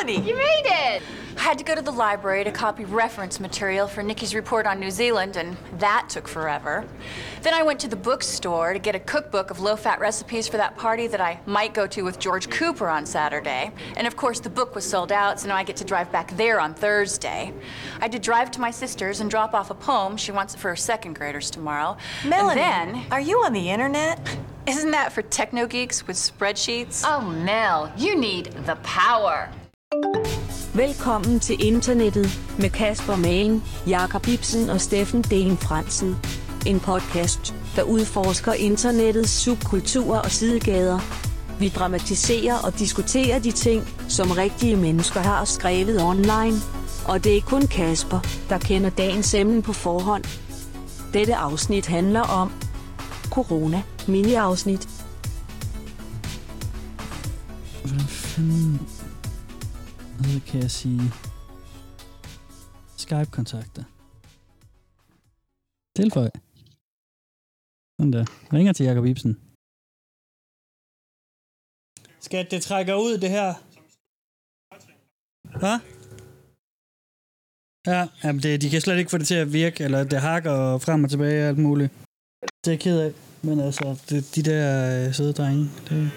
Melanie! You made it! I had to go to the library to copy reference material for Nikki's report on New Zealand, and that took forever. Then I went to the bookstore to get a cookbook of low-fat recipes for that party that I might go to with George Cooper on Saturday. And of course, the book was sold out, so now I get to drive back there on Thursday. I had to drive to my sister's and drop off a poem. She wants it for her second graders tomorrow. Melanie, and then, are you on the internet? isn't that for techno geeks with spreadsheets? Oh, Mel, you need the power. Velkommen til internettet med Kasper Magen, Jakob Ibsen og Steffen Dehn Fransen. En podcast, der udforsker internettets subkulturer og sidegader. Vi dramatiserer og diskuterer de ting, som rigtige mennesker har skrevet online. Og det er kun Kasper, der kender dagens emne på forhånd. Dette afsnit handler om corona mini-afsnit. Hvordan fanden... Hvad kan jeg sige? Skype-kontakter. Tilføj. Sådan der. Ringer til Jakob Ibsen. Skat, det trækker ud, det her. Hvad? Ja, jamen de kan slet ikke få det til at virke, eller det hakker frem og tilbage og alt muligt. Det er jeg ked af, men altså, de der søde drenge, det...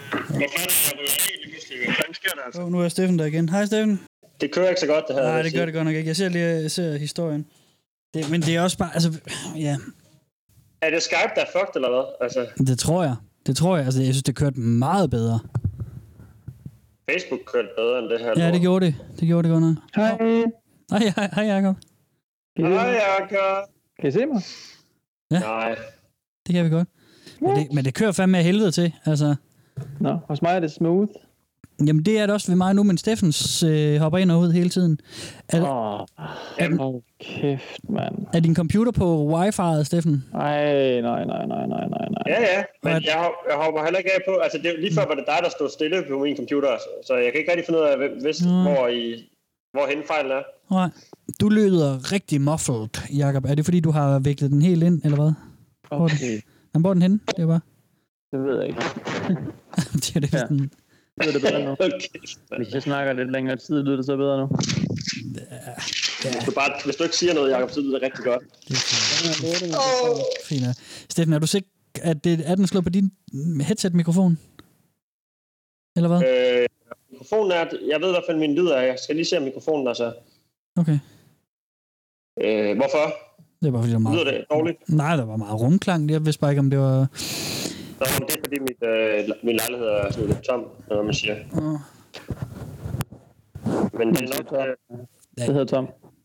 Ja. Nu er Steffen der igen. Hej Steffen. Det kører ikke så godt, det her. Nej, det gør det godt nok ikke. Jeg ser historien. Men det er også bare, altså, ja. Er det Skype, der er fucked, eller hvad? Altså... Det tror jeg. Altså, jeg synes, det kørte meget bedre. Facebook kørte bedre end det her. Ja, det gjorde det. Det gjorde det godt nok. Hej Jakob. Hej Jakob. Kan I se mig? Ja. Nej. Det kan vi godt. Men det kører fandme af helvede til, altså. Nå, hos mig er det smooth. Jamen, det er det også ved mig nu, men Steffens hopper ind og ud hele tiden. Kæft, mand. Er din computer på wifi'et, Steffen? Nej. Ja, men jeg hopper heller ikke af på. Altså, det, lige før var det dig, der stod stille på min computer, så jeg kan ikke rigtig finde ud af, hvorhen fejlen er. Nej. Du lyder rigtig muffled, Jakob. Er det fordi, du har viklet den helt ind, eller hvad? Okay. Hvor er den henne? Det er bare... Det ved jeg ikke. det er det, sådan... Det er det bedre nu. Hvis jeg snakker lidt længere tid, lyder det så bedre nu. Ja. Hvis du ikke siger noget, Jakob, så lyder det rigtig godt. Fint. Steffen, er du sikker, at er den slået på din headset-mikrofon? Eller hvad? Mikrofonen er... Jeg ved i hvert fald, min lyd er. Jeg skal lige se, om mikrofonen er så... Okay. Hvorfor? Det er bare fordi, der var meget... Lyder det dårligt? Nej, der var meget rumklang. Jeg vidste bare ikke, om det var... Det er fordi, min lejlighed er sådan lidt tom, når man siger. Men det er nok... Det hedder tom.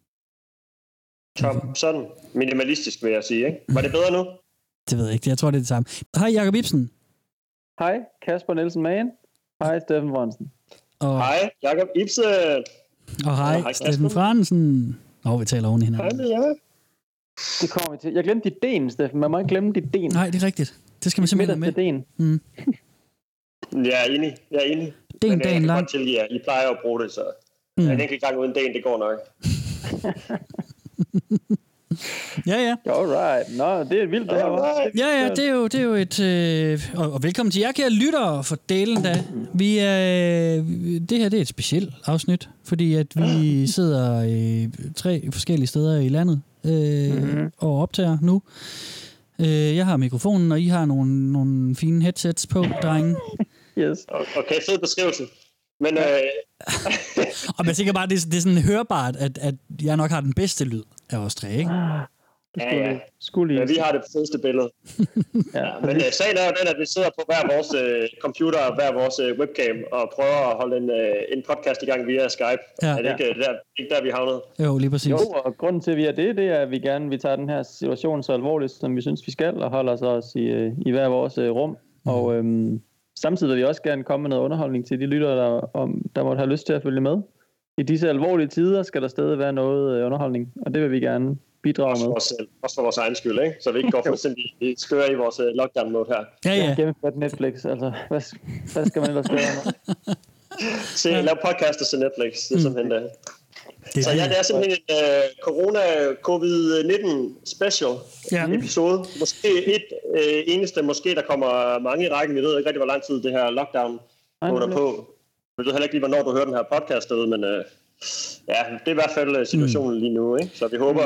Tom, sådan minimalistisk vil jeg sige, ikke? Var det bedre nu? Det ved jeg ikke. Jeg tror, det er det samme. Hej, Jakob Ibsen. Hej, Kasper Nielsen Magen. Hej, Steffen Fransen. Hej, Jakob Ibsen. Og hej, Steffen Fransen. Vi taler oven i hinanden. Hej, ja. Det kommer vi til. Jeg glemte dit den, Steffen. Man må ikke glemme dit den. Nej, det er rigtigt. Det skal man simpelthen med. Den. Jeg er enig. Den dagen lang. Godt tilgive jer. I plejer at bruge det, så en enkelt gang uden den, det går nok. Ja. Alright. Nå, det er vildt, det her. Ja, det er jo et... Og velkommen til jer, kære lyttere, for delen da. Det her, det er et specielt afsnit, fordi at vi sidder 3 forskellige steder i landet og optager nu. Jeg har mikrofonen, og I har nogle fine headsets på, drenge. Yes. Okay, fed beskrivelse. Men... og man tænker bare, det er sådan hørbart, at jeg nok har den bedste lyd af os 3, ikke? Ja. Men vi har det fedeste billede. Men sagen er jo den, at vi sidder på hver vores computer og hver vores webcam og prøver at holde en podcast i gang via Skype. Ja. Er det ikke der, vi havnede? Jo, lige præcis. Jo, og grunden til, at vi er det er, at vi tager den her situation så alvorligt, som vi synes, vi skal, og holder os i hver vores rum. Og samtidig vil vi også gerne komme med noget underholdning til de lyttere, der måtte have lyst til at følge med. I disse alvorlige tider skal der stadig være noget underholdning, og det vil vi gerne bidrage med. Også for vores egen skyld, ikke? Så vi ikke går fuldstændig skøre i vores lockdown-mode her. Ja. Gennemført Netflix, altså. Hvad skal man ellers gøre? Lav podcast og se Netflix, det er simpelthen det. Så det er simpelthen en COVID-19 special episode. Måske eneste, der kommer mange i rækken. Vi ved ikke rigtig, hvor lang tid det her lockdown går på. Jeg ved heller ikke lige, hvornår du hører den her podcast ud, men ja, det er i hvert fald situationen lige nu, ikke? Så vi håber,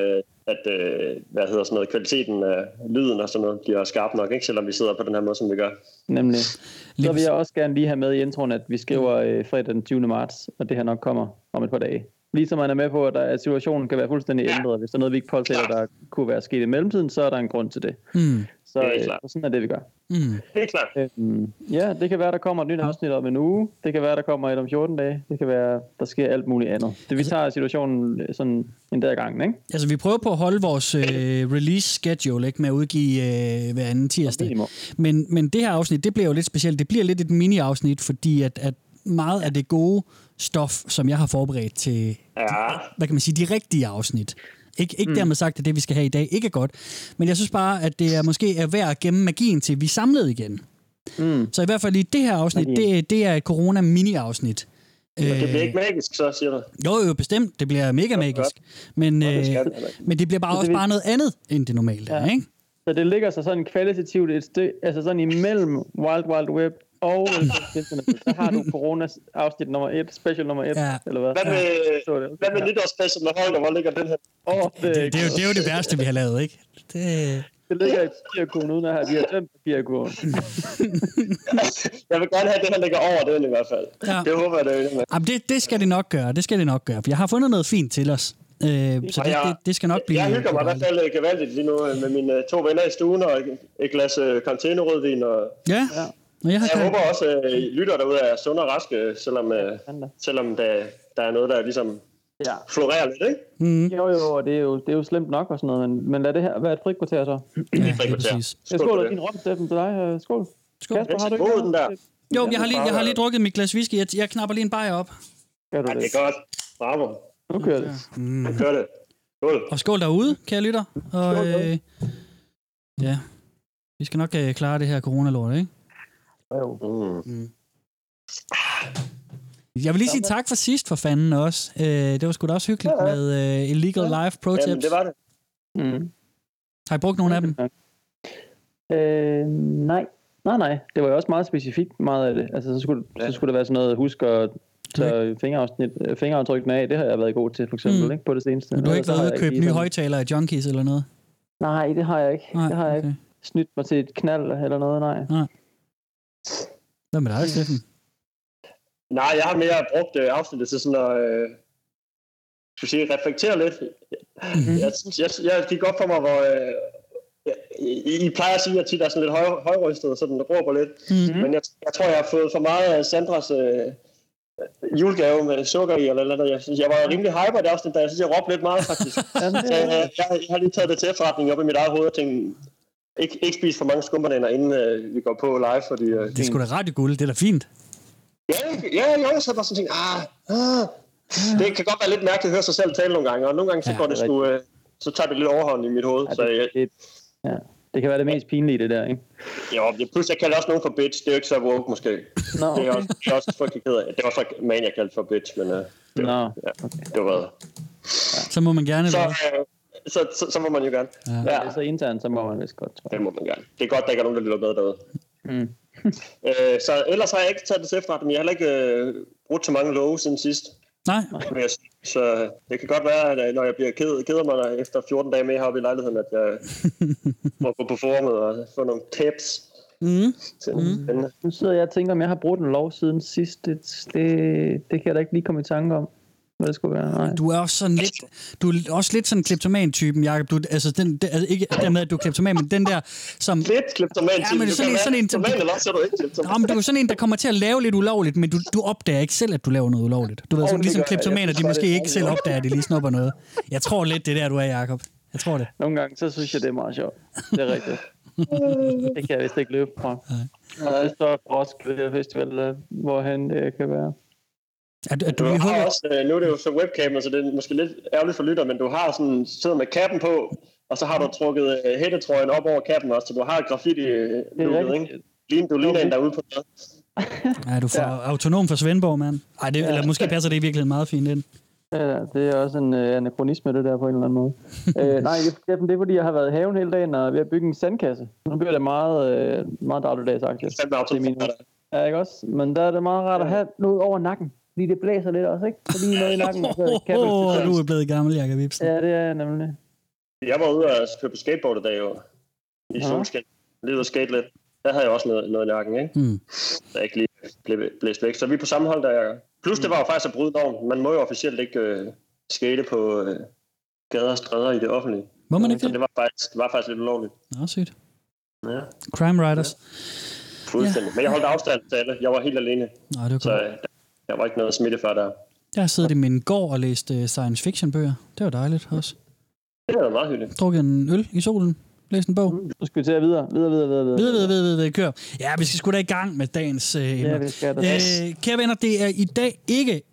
at kvaliteten af lyden og sådan noget bliver skarp nok, ikke? Selvom vi sidder på den her måde, som vi gør. Nemlig. Så vil jeg også gerne lige have med i introen, at vi skriver fredag den 20. marts, og det her nok kommer om et par dage. Ligesom man er med på, at situationen kan være fuldstændig ændret. Hvis der er noget, vi ikke påtæller, der kunne være sket i mellemtiden, så er der en grund til det. Så sådan er det, vi gør. Helt klart. Ja, det kan være, der kommer et nyt afsnit om en uge. Det kan være, der kommer et om 14 dage. Det kan være, der sker alt muligt andet. Det vi tager situationen sådan en dag ad gangen, ikke? Altså, vi prøver på at holde vores release schedule, ikke, med at udgive hver anden tirsdag. Men det her afsnit, det bliver jo lidt specielt. Det bliver lidt et mini-afsnit, fordi at meget af det gode stof, som jeg har forberedt til, hvad kan man sige, de rigtige afsnit. Ikke dermed sagt, at det, vi skal have i dag, ikke er godt. Men jeg synes bare, at det måske er værd at gemme magien til, vi er samlet igen. Så i hvert fald i det her afsnit, det er et corona-mini-afsnit. Det bliver ikke magisk, så siger du? Jo, bestemt. Det bliver mega magisk. Men det bliver bare også bare noget andet, end det normalt er, ikke? Så det ligger så sådan kvalitativt et stykke, altså sådan imellem Wild Wild Web og så har du corona-afsnit nummer 1, special nummer 1, eller hvad? Hvad med nytårsspecial med Holger? Hvor ligger den her? Det er jo det værste, vi har lavet, ikke? Det ligger i papirkurven, uden at have de her tømt papirkurven. Jeg vil gerne have, at det her ligger over den i hvert fald. Ja. Det håber jeg, det er. Jamen, det skal det nok gøre. Det skal det nok gøre. For jeg har fundet noget fint til os. Så det skal nok blive... Jeg hygger mig i hvert fald gevaldigt lige nu med mine 2 venner i stuen og et glas containerrødvin. Ja. Jeg håber også, at lytter derude er sunde og raske, selvom der er noget, der ligesom florerer lidt, ikke? Jo, og det er jo slemt nok og sådan noget, men lad det her være et frikvarter så. Ja, det er præcis. Skål og din rom, Steffen, til dig. Skål. Kasper, har du ikke den der? Jo, jeg har lige drukket mit glas whisky. Jeg knapper lige en bajer op. Ja, det er godt. Bravo. Nu kører det. Nu kører det. Skål. Og skål derude, kære lytter. Og ja, vi skal nok klare det her coronalort, ikke? Jeg vil lige sige tak for sidst, for fanden også. Det var sgu da også hyggeligt med Illegal Life Pro Tips. Jamen, det var det. Har I brugt nogle af dem? Nej. Det var jo også meget specifikt, meget af det. Altså, så skulle det være sådan noget, husk at tage fingeraftrykkene af. Det har jeg været god til, for eksempel, ikke, på det seneste. Men du har ikke været ude at købe nye højtalere af Junkies eller noget? Nej, det har jeg ikke. Det har jeg ikke. Snydt mig til et knald eller noget, nej. Hvad med dig, Steffen? Nej, jeg har mere brugt afsnittet til sådan at reflektere lidt. Jeg gik op for mig, hvor I plejer at sige, at tit er sådan lidt højrystet, og sådan råber lidt. Men jeg tror, jeg har fået for meget af Sandras julegave med sukker i, eller noget. Jeg var rimelig hyper i det afsnit, da jeg synes, jeg råbte lidt meget, faktisk. Så jeg har lige taget det til efterretning op i mit eget hoved og tænkt, ikke spise for mange skumbananer, inden vi går på live, fordi... det er sgu da radioguld, det er da fint. Ja, så var sådan det kan godt være lidt mærkeligt at høre sig selv tale nogle gange, og nogle gange så går det sgu, så tager det lidt overhånd i mit hoved. Det kan være det mest pinlige, det der, ikke? Jo, pludselig jeg kalder også nogen for bitch, det er jo ikke så woke måske. No. Det er også frygtelig ked af. Det var så man, jeg kaldte for bitch, men det var... Ja. Så må man gerne så må man jo gerne. Ja. Det er så internt, så må man vist godt, tror jeg. Det må man gerne. Det er godt, der ikke er nogen, der lytter med derude. Så ellers har jeg ikke taget det til efterretning, men jeg har heller ikke brugt så mange love siden sidst. Nej. Så det kan godt være, at når jeg bliver keder mig efter 14 dage med heroppe i lejligheden, at jeg må gå på forumet og få nogle tips. Nu sidder jeg og tænker, om jeg har brugt en lov siden sidst. Det kan jeg da ikke lige komme i tanke om. Det skulle være. Nej. Du er også lidt sådan en kleptoman-typen, Jacob. Du, altså ikke dermed, at du er kleptoman, men den der, som... Lidt kleptoman-typen. Ja, men det er sådan en... Du er sådan en, der kommer til at lave lidt ulovligt, men du opdager ikke selv, at du laver noget ulovligt. Du ved, sådan, ligesom kleptomaner, de måske ikke selv opdager, at de lige snupper noget. Jeg tror lidt, det er der, du er, Jacob. Jeg tror det. Nogle gange, så synes jeg, det er meget sjovt. Det er rigtigt. Det kan jeg vist ikke løbe fra. Det står for Roskilde Festival, hvorhen det kan være. Du har også, nu er det jo så webcam, så det er måske lidt ærgerligt for lytter, men du har sådan siddet med kappen på, og så har du trukket hættetrøjen op over kappen også, så du har graffiti-lukket, ikke? Du ligner en, der er ude på noget. Ja, du får autonom for Svendborg, mand. Eller måske passer det i virkeligheden meget fint ind. Ja, det er også en anachronisme, det der på en eller anden måde. Nej, det er fordi, jeg har været i haven hele dagen og ved at bygge en sandkasse. Nu bliver det meget dagligdags, faktisk. Ja, ikke også? Men der er det meget rart at have noget over nakken. Fordi det blæser lidt også, ikke? Så lige noget i nakken. Du er blevet gammel, Jakob Ibsen. Ja, det er jeg nemlig. Jeg var ude og køre på skateboard i dag, jo. I solskin. Lige ude og skate lidt. Der havde jeg også noget i nakken, ikke? Der ikke lige blev blæst væk. Så vi er på samme hold, der jeg... Plus det var jo faktisk at bryde normen. Man må jo officielt ikke skate på gader og stræder i det offentlige. Må man ikke så det? det var faktisk lidt ulovligt. Nå, sygt. Ja. Crime Riders. Ja. Fuldstændig. Men jeg holdt afstand til alle. Jeg var helt alene. Nej, det var så jeg var ikke noget smittefar der. Jeg har siddet i min gård og læst science fiction bøger. Det var dejligt også. Det var meget hyggeligt. Drukket en øl i solen. Læst en bog. Nu skal vi til at videre. Kør. Ja, vi skal sgu da i gang med dagens emner. Ja, vi skal det. Kære venner, det er i dag ikke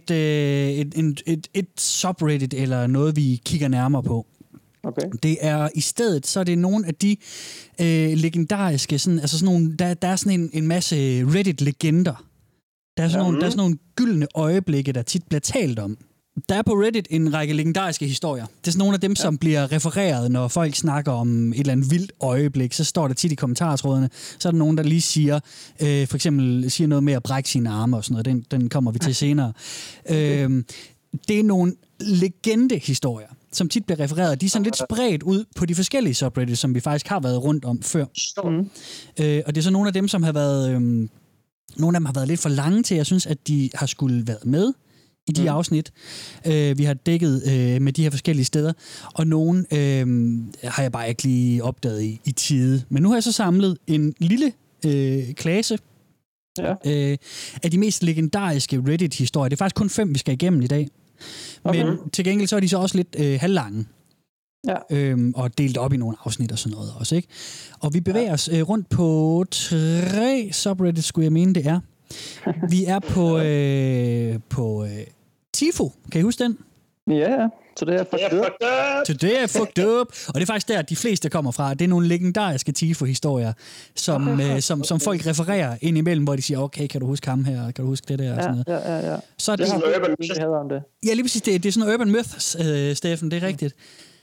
et subreddit eller noget, vi kigger nærmere på. Okay. Det er i stedet, så er det nogle af de legendariske, sådan nogle, der er sådan en masse Reddit-legender. Der er sådan nogle gyldne øjeblikke, der tit bliver talt om. Der er på Reddit en række legendariske historier. Det er sådan nogle af dem, som bliver refereret, når folk snakker om et eller andet vildt øjeblik. Så står der tit i kommentartrådene, så er der nogen, der lige siger, for eksempel siger noget med at brække sine arme og sådan noget. Den kommer vi til senere. Det er nogle legendehistorier, som tit bliver refereret. De er sådan lidt spredt ud på de forskellige subreddits, som vi faktisk har været rundt om før. Og det er så nogle af dem, som har været... nogle af dem har været lidt for lange til, jeg synes, at de har skulle været med i de afsnit, vi har dækket med de her forskellige steder. Og nogle har jeg bare ikke lige opdaget i tide. Men nu har jeg så samlet en lille klasse af de mest legendariske Reddit-historier. Det er faktisk kun 5, vi skal igennem i dag. Men til gengæld så er de så også lidt halvlange. Ja. Og delt op i nogle afsnit og sådan noget også, ikke? Og vi bevæger os rundt på 3 subreddits, skulle jeg mene, det er. Vi er på Tifo. Kan I huske den? Ja, så det er fucked up. Today I fucked up. Og det er faktisk der, de fleste kommer fra. Det er nogle legendariske Tifo-historier, som folk refererer ind imellem, hvor de siger, okay, kan du huske ham her? Kan du huske det der? Og sådan noget. Ja. Så er det er sådan noget urban myth. Om det. Ja, lige præcis. Det er sådan noget urban myth, Steffen. Det er rigtigt.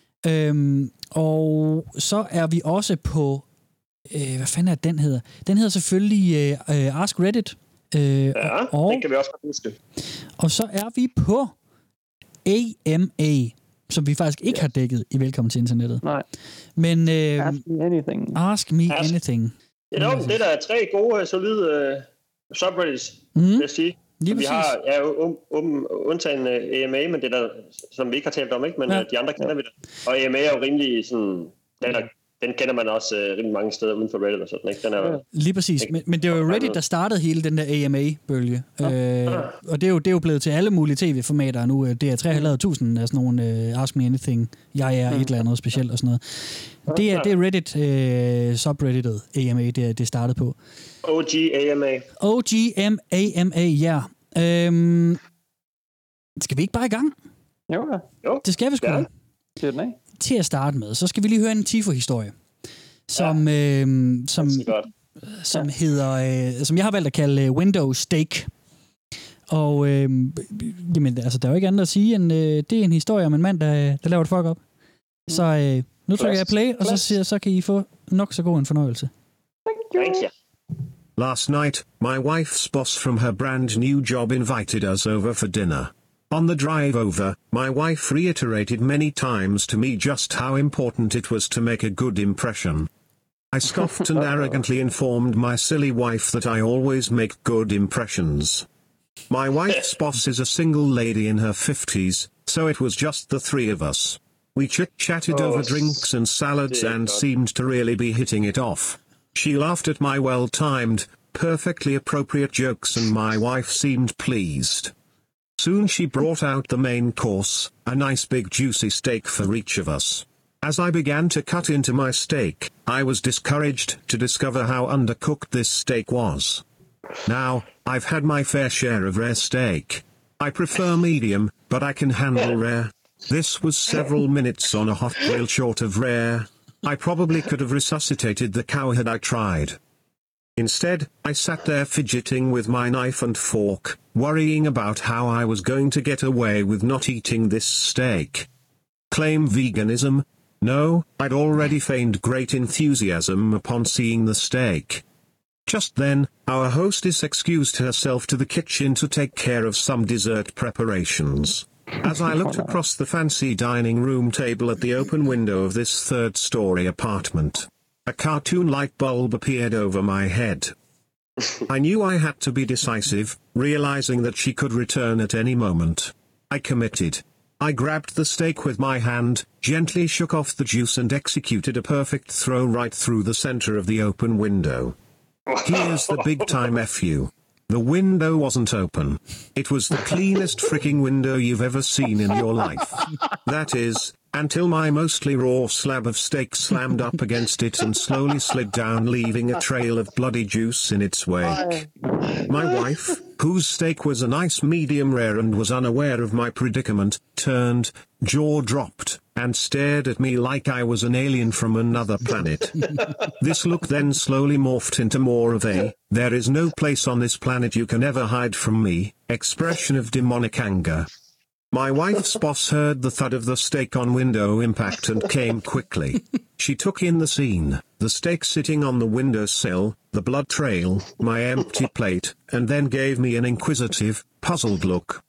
Og så er vi også på... hvad fanden er den hedder? Den hedder selvfølgelig Ask Reddit. Og, den kan vi også godt huske. Og så er vi på AMA, som vi faktisk ikke har dækket i Velkommen til Internettet. Nej. Men Ask me anything. Ask me anything. Det er der 3 gode, solide subreddits, vil jeg sige. Vi har undtagen AMA, men det der, som vi ikke har talt om, ikke? Men de andre kender vi det. Og AMA er jo rimelig sådan... Den kender man også rimelig mange steder uden for Reddit og sådan, ikke? Den er lige præcis. Men det var jo Reddit, der startede hele den der AMA-bølge. Og det er jo blevet til alle mulige tv-formater nu. Det er 3.500 af sådan nogle Ask Me Anything. Jeg er et eller andet specielt og sådan noget. Det er Reddit subredditet AMA, det startede på. OG AMA, ja. Skal vi ikke bare i gang? Jo. Det skal vi sgu. Ja. Til at starte med, så skal vi lige høre en Tifo-historie, som hedder, som jeg har valgt at kalde Windows Steak. Og jamen, altså, der er jo ikke andet at sige, end det er en historie om en mand, der laver et fuck op. Så nu trykker jeg play, og så kan I få nok så god en fornøjelse. Thank you. Last night, my wife's boss from her brand new job invited us over for dinner. On the drive over, my wife reiterated many times to me just how important it was to make a good impression. I scoffed and arrogantly informed my silly wife that I always make good impressions. My wife's boss is a single lady in her 50s, so it was just the 3 of us. We chit-chatted over drinks and salads and seemed to really be hitting it off. She laughed at my well-timed, perfectly appropriate jokes and my wife seemed pleased. Soon she brought out the main course, a nice big juicy steak for each of us. As I began to cut into my steak, I was discouraged to discover how undercooked this steak was. Now, I've had my fair share of rare steak. I prefer medium, but I can handle rare. This was several minutes on a hot grill short of rare. I probably could have resuscitated the cow had I tried. Instead, I sat there fidgeting with my knife and fork, worrying about how I was going to get away with not eating this steak. Claim veganism? No, I'd already feigned great enthusiasm upon seeing the steak. Just then, our hostess excused herself to the kitchen to take care of some dessert preparations. As I looked across the fancy dining room table at the open window of this third-story apartment, a cartoon light bulb appeared over my head. I knew I had to be decisive, realizing that she could return at any moment. I committed. I grabbed the steak with my hand, gently shook off the juice and executed a perfect throw right through the center of the open window. Here's the big time FU. The window wasn't open. It was the cleanest freaking window you've ever seen in your life. That is, until my mostly raw slab of steak slammed up against it and slowly slid down, leaving a trail of bloody juice in its wake. My wife, whose steak was a nice medium rare and was unaware of my predicament, turned, jaw dropped, and stared at me like I was an alien from another planet. This look then slowly morphed into more of a, there is no place on this planet you can ever hide from me, expression of demonic anger. My wife's boss heard the thud of the steak on window impact and came quickly. She took in the scene, the steak sitting on the windowsill, the blood trail, my empty plate, and then gave me an inquisitive, puzzled look.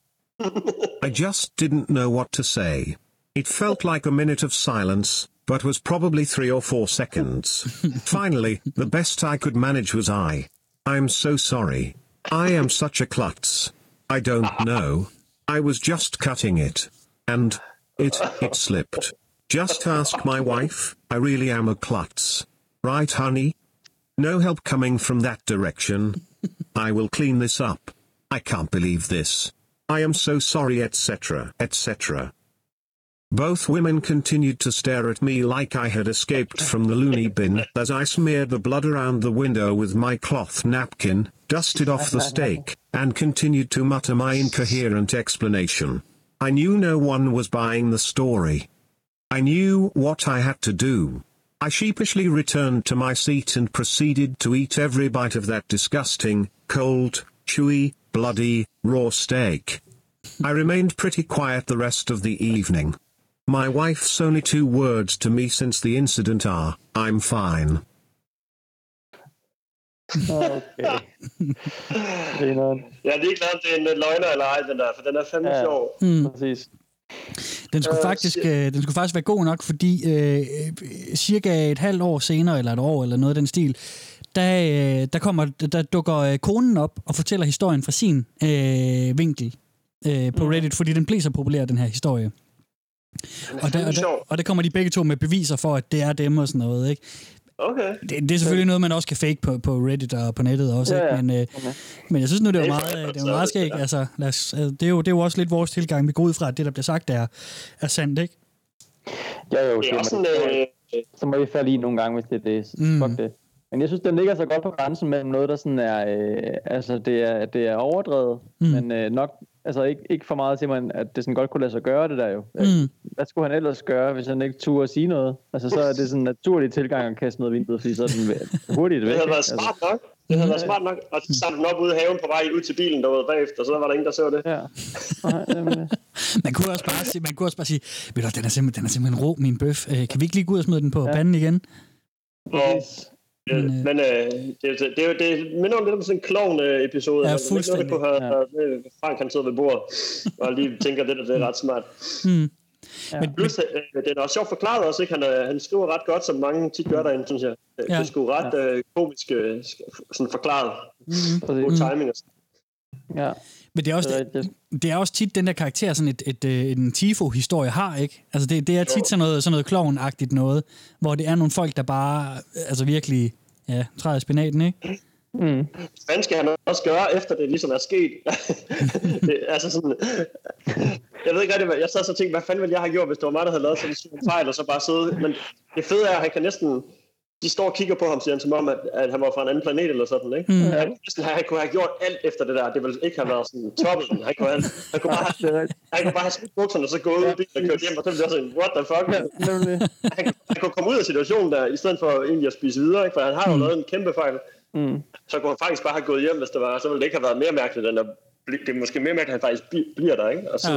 I just didn't know what to say. It felt like a minute of silence, but was probably 3 or 4 seconds. Finally, the best I could manage was I'm so sorry. I am such a klutz. I don't know. I was just cutting it. And it slipped. Just ask my wife, I really am a klutz. Right, honey? No help coming from that direction. I will clean this up. I can't believe this. I am so sorry, etc., etc. Both women continued to stare at me like I had escaped from the loony bin as I smeared the blood around the window with my cloth napkin, dusted off the steak, and continued to mutter my incoherent explanation. I knew no one was buying the story. I knew what I had to do. I sheepishly returned to my seat and proceeded to eat every bite of that disgusting, cold, chewy, bloody, raw steak. I remained pretty quiet the rest of the evening. My wife's only 2 words to me since the incident are, I'm fine. Okay. Jeg er ligeglad, om det er en løgner eller ej, den der, for den er fandme sjov. Præcis. Den skulle faktisk være god nok, fordi cirka et halvt år senere, eller et år, eller noget af den stil, der dukker konen op og fortæller historien fra sin vinkel på Reddit, fordi den blev så populær, den her historie. Og der kommer de begge to med beviser for, at det er dem og sådan noget, ikke? Okay. Det er selvfølgelig noget, man også kan fake på Reddit og på nettet også, ikke? Men jeg synes nu, det er meget skægt. Altså, det er jo også lidt vores tilgang. Vi går ud fra, at det, der bliver sagt, er sandt, ikke? Jo, så må vi falde i nogle gange, hvis det er det. Fuck det. Men jeg synes, den ligger så godt på grænsen mellem noget, der sådan er, det er overdrevet, men nok, altså ikke for meget til man, at det sådan godt kunne lade sig gøre det der jo. Hvad skulle han ellers gøre, hvis han ikke turde at sige noget? Altså så er det sådan en naturlig tilgang at kaste noget vinduet, fordi så er den hurtigt væk. Det havde været smart nok. Det havde været smart nok. Og så samlede den op ude i haven på vej ud til bilen derude bagefter, og så var der ingen, der så det. Ja. Man kunne også bare sige, ved du, den er simpelthen rå, min bøf. Kan vi ikke lige gå ud og smide den på panden igen? Men det minder lidt om sådan en klovn-episode. Ja, fuldstændig. Frank han sidder ved bordet og lige tænker, det er ret smart. Men plus, det er også sjovt forklaret også, ikke? Han skriver ret godt, som mange tit gør derinde, synes jeg. Det er sgu ret komisk sådan forklaret. God timing og sådan. Ja. Men det er også tit den der karakter, sådan en Tifo-historie har, ikke? Altså det er tit sådan noget klovn-agtigt noget, hvor det er nogle folk, der bare altså virkelig træder i spinaten, ikke? Hvad skal han også gøre, efter det ligesom er sket? Altså sådan, jeg ved ikke rigtig, jeg sad så og tænkte, hvad fanden ville jeg have gjort, hvis det var mig, der havde lavet sådan en fejl, og så bare sidde. Men det fede er, at han kan næsten, de står og kigger på ham, siger han, som om, at han var fra en anden planet eller sådan, ikke? Han kunne have gjort alt efter det der. Det ville ikke have været sådan toppet. Han kunne bare have smidt bukserne, og så gået ud i bilen og kørt hjem, og så ville det sådan, what the fuck? Han kunne komme ud af situationen der, i stedet for egentlig at spise videre, ikke? For han har jo lavet en kæmpe fejl. Så kunne han faktisk bare have gået hjem, hvis det var, så ville det ikke have været mere mærkeligt, end at det er måske mere mærkeligt, at han faktisk bliver der, ikke? Og så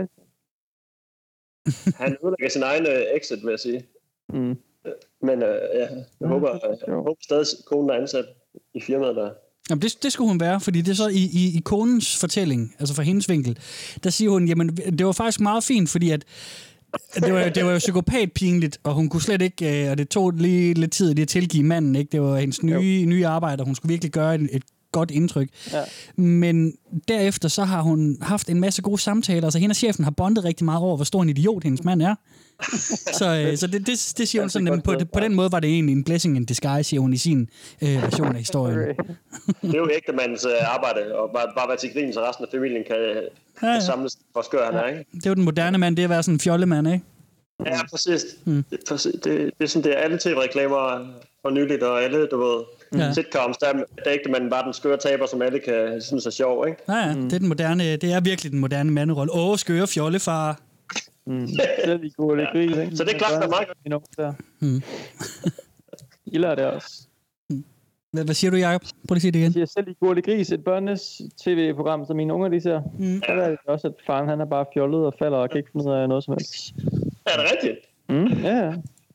han udlægger sin egen exit, vil jeg sige. Men jeg håber stadig, konen er ansat. i firmaet der. Jamen, det skulle hun være, fordi det er så i konens fortælling, altså fra hendes vinkel, der siger hun, jamen, det var faktisk meget fint, fordi at det var jo psykopatpinligt, og hun kunne slet ikke, og det tog lige lidt tid lige at tilgive manden, ikke? Det var hendes nye arbejde, og hun skulle virkelig gøre et godt indtryk. Ja. Men derefter så har hun haft en masse gode samtaler, så hende og chefen har bondet rigtig meget over, hvor stor en idiot hendes mand er. Så det siger hun sådan, at på den måde var det egentlig en blessing in disguise, siger hun i sin version af historien. Det er jo ægtemands arbejde, og bare være til grin, så resten af familien kan samles, hvor skør han er, ikke? Det er jo den moderne mand, det er at være sådan en fjollemand, ikke? Ja, præcis. Det er sådan, det er alle tv-reklamer for nyligt, og alle, du ved, sitcoms, der er ægtemanden bare den skøre taber, som alle kan synes er sjov, ikke? Ja, det er virkelig den moderne manderolle. Skøre fjollefar. Det er gode lidt gris, ikke? Så det er klart, det er meget godt. I lærer det også. Hvad siger du, Jacob? Prøv lige at sige det igen. Jeg siger selv i Gurle Gris, et børnes tv-program, som mine unger de ser. Så er det også, at faren han er bare fjollet og falder og kan ikke finde ud af noget som helst. Er det rigtigt? Ja.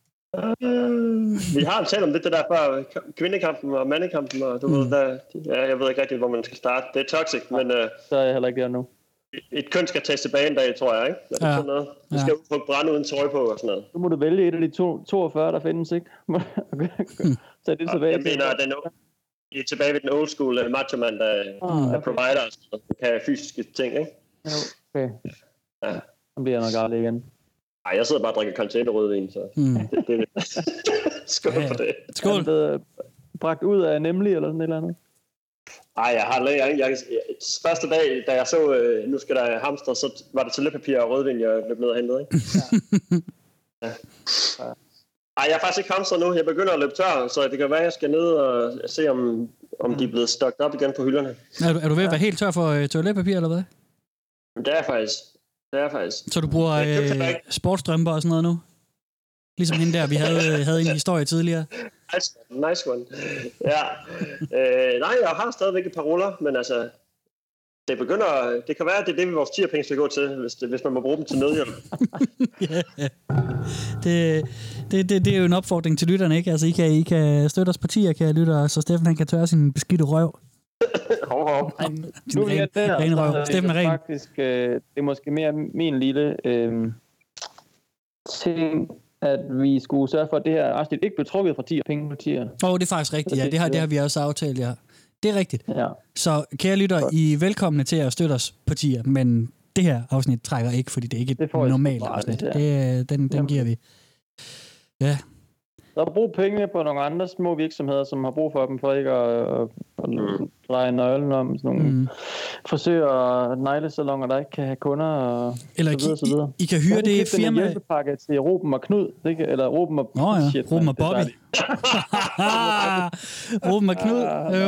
Vi har talt om det der før, kvindekampen og mandekampen, og du ved, jeg ved ikke rigtig, hvor man skal starte. Det er toxic, men... Så er jeg heller ikke der nu. Et køn skal tages tilbage en dag, tror jeg, ikke? Det er sådan noget. Du skal ud på brænde uden tøj på og sådan noget. Så må du vælge et af de 42, der findes, ikke? Så det tilbage. Jeg mener, det er tilbage ved den old school macho-mand, der provider og kan fysiske ting, ikke? Okay. Ja. Så bliver jeg nok aldrig igen. Nej, jeg sidder bare og drikker container-rødvin, så det skål for det. Skål. Er det bragt ud af nemlig, eller sådan et eller andet? Nej, jeg har første dag, da jeg så, nu skal der hamster, så var det toiletpapir og rødvin, jeg løb ned og hentede, ikke? Ja. Ej, jeg har faktisk ikke hamstret nu. Jeg begynder at løbe tør, så det kan være, at jeg skal ned og se, om de er blevet stokket op igen på hylderne. Er du ved at være helt tør for toiletpapir, eller hvad? Det er faktisk. Så du bruger sportsstrømper og sådan noget nu? Ligesom hende der, vi havde en historie tidligere. Nice one. Ja. Nej, jeg har stadigvæk et par ruller, men altså, det kan være, at det er det, vores tierpenge skal gå til, hvis man må bruge dem til nødhjælp. Det er jo en opfordring til lytterne, ikke? Altså, I kan støtte os partier, kan lytte, så Steffen han kan tørre sin beskidte røv. Nu er det ren røv. Steffen er ren. Faktisk, det er måske mere min lille ting, at vi skulle sørge for, at det her afsnit ikke blev trukket fra 10 penge på 10'erne. Det er faktisk rigtigt, ja. Det har vi også aftalt, ja. Det er rigtigt. Ja. Så kære lytter, I er velkomne til at støtte os på 10'er, men det her afsnit trækker ikke, fordi det er ikke et normalt afsnit. Den giver vi. Ja. Så brug pengene på nogle andre små virksomheder, som har brug for dem, for ikke at dreje nøglen om sådan nogle frisører og neglesalonger, der ikke kan have kunder og eller så videre. I kan hyre det firma. En hjælpepakke til Ruben og Knud, eller Ruben og... Ruben og Bobby. Ruben og Knud.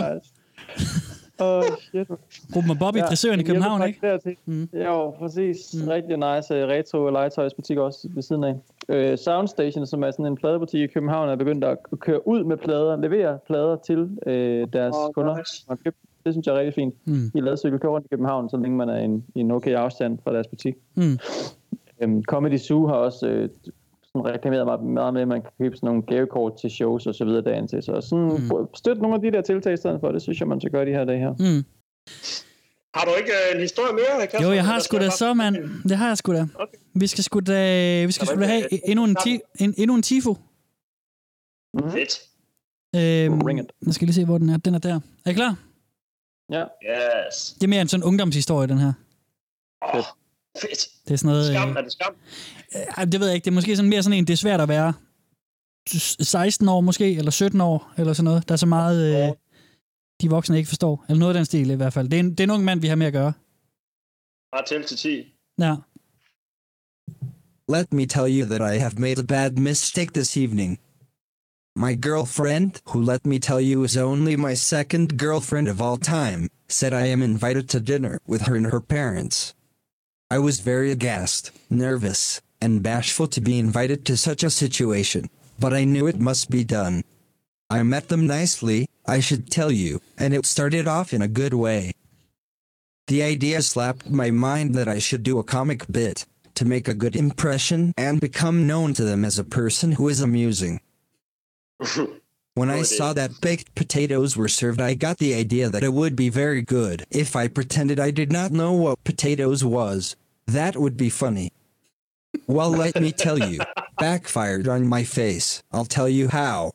Shit. Ruben og Bobby, frisøren i København, ikke? Jo, præcis. Rigtig nice retro legetøjsbutik også ved siden af. Soundstation, som er sådan en pladebutik i København, er begyndt at køre ud med plader, levere plader til deres kunder. Nice. Det synes jeg er rigtig fint. I ladcykel kører rundt i København, så længe man er i en okay afstand fra deres butik. Comedy Zoo har også sådan reklameret meget med, at man kan købe sådan nogle gavekort til shows og så videre dagen til. Så sådan, støt nogle af de der tiltag i stedet for, det synes jeg, man skal gøre de her dage her. Har du ikke en historie mere, Kasper? Jo, jeg har sgu da så, mand. Det har jeg sgu da. Okay. Vi skal sgu da have endnu en tifo. Fedt. Jeg skal lige se, hvor den er. Den er der. Er I klar? Ja. Yes. Det er mere en sådan ungdomshistorie, den her. Fedt. Det er sådan noget... Skam, er det skam? Det ved jeg ikke. Det er måske sådan mere sådan en, det er svært at være 16 år måske, eller 17 år, eller sådan noget. Der er så meget... de voksne ikke forstår. Eller noget af den stil i hvert fald. Det er en ung mand, vi har med at gøre. Bare tæl til 10. Ja. Let me tell you that I have made a bad mistake this evening. My girlfriend, who let me tell you is only my second girlfriend of all time, said I am invited to dinner with her and her parents. I was very aghast, nervous, and bashful to be invited to such a situation, but I knew it must be done. I met them nicely, I should tell you, and it started off in a good way. The idea slapped my mind that I should do a comic bit to make a good impression and become known to them as a person who is amusing. When I saw that baked potatoes were served, I got the idea that it would be very good if I pretended I did not know what potatoes was. That would be funny. Well, let me tell you, backfired on my face. I'll tell you how.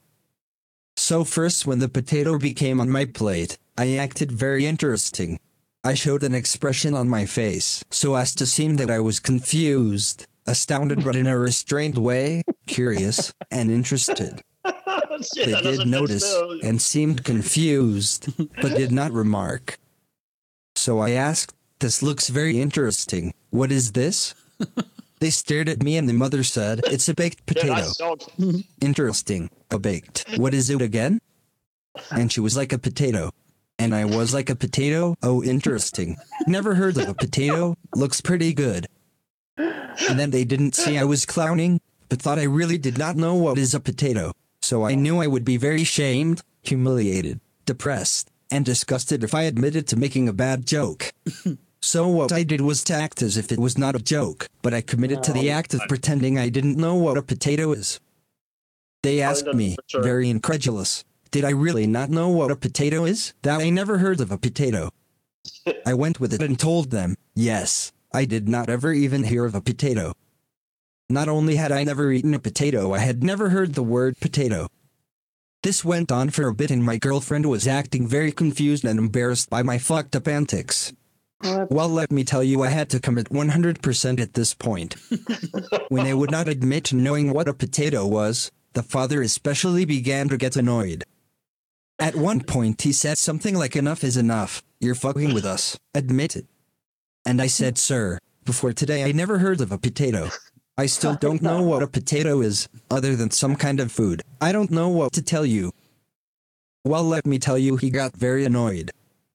So first, when the potato became on my plate, I acted very interesting. I showed an expression on my face so as to seem that I was confused, astounded but in a restrained way, curious, and interested. They did notice and seemed confused, but did not remark. So I asked, "This looks very interesting. What is this?" They stared at me and the mother said, "It's a baked potato." Interesting. A baked. What is it again? And she was like a potato. And I was like a potato. Oh, interesting. Never heard of a potato. Looks pretty good. And then they didn't see I was clowning, but thought I really did not know what is a potato. So I knew I would be very shamed, humiliated, depressed, and disgusted if I admitted to making a bad joke. So what I did was to act as if it was not a joke, but I committed to the act of pretending I didn't know what a potato is. They asked me, very incredulous, did I really not know what a potato is? That I never heard of a potato. I went with it and told them, yes, I did not ever even hear of a potato. Not only had I never eaten a potato, I had never heard the word potato. This went on for a bit and my girlfriend was acting very confused and embarrassed by my fucked up antics. Well, let me tell you, I had to commit 100% at this point. When I would not admit to knowing what a potato was, the father especially began to get annoyed. At one point he said something like, "Enough is enough, you're fucking with us, admit it." And I said, "Sir, before today I never heard of a potato. I still don't know what a potato is, other than some kind of food. I don't know what to tell you." Well, let me tell you, he got very annoyed.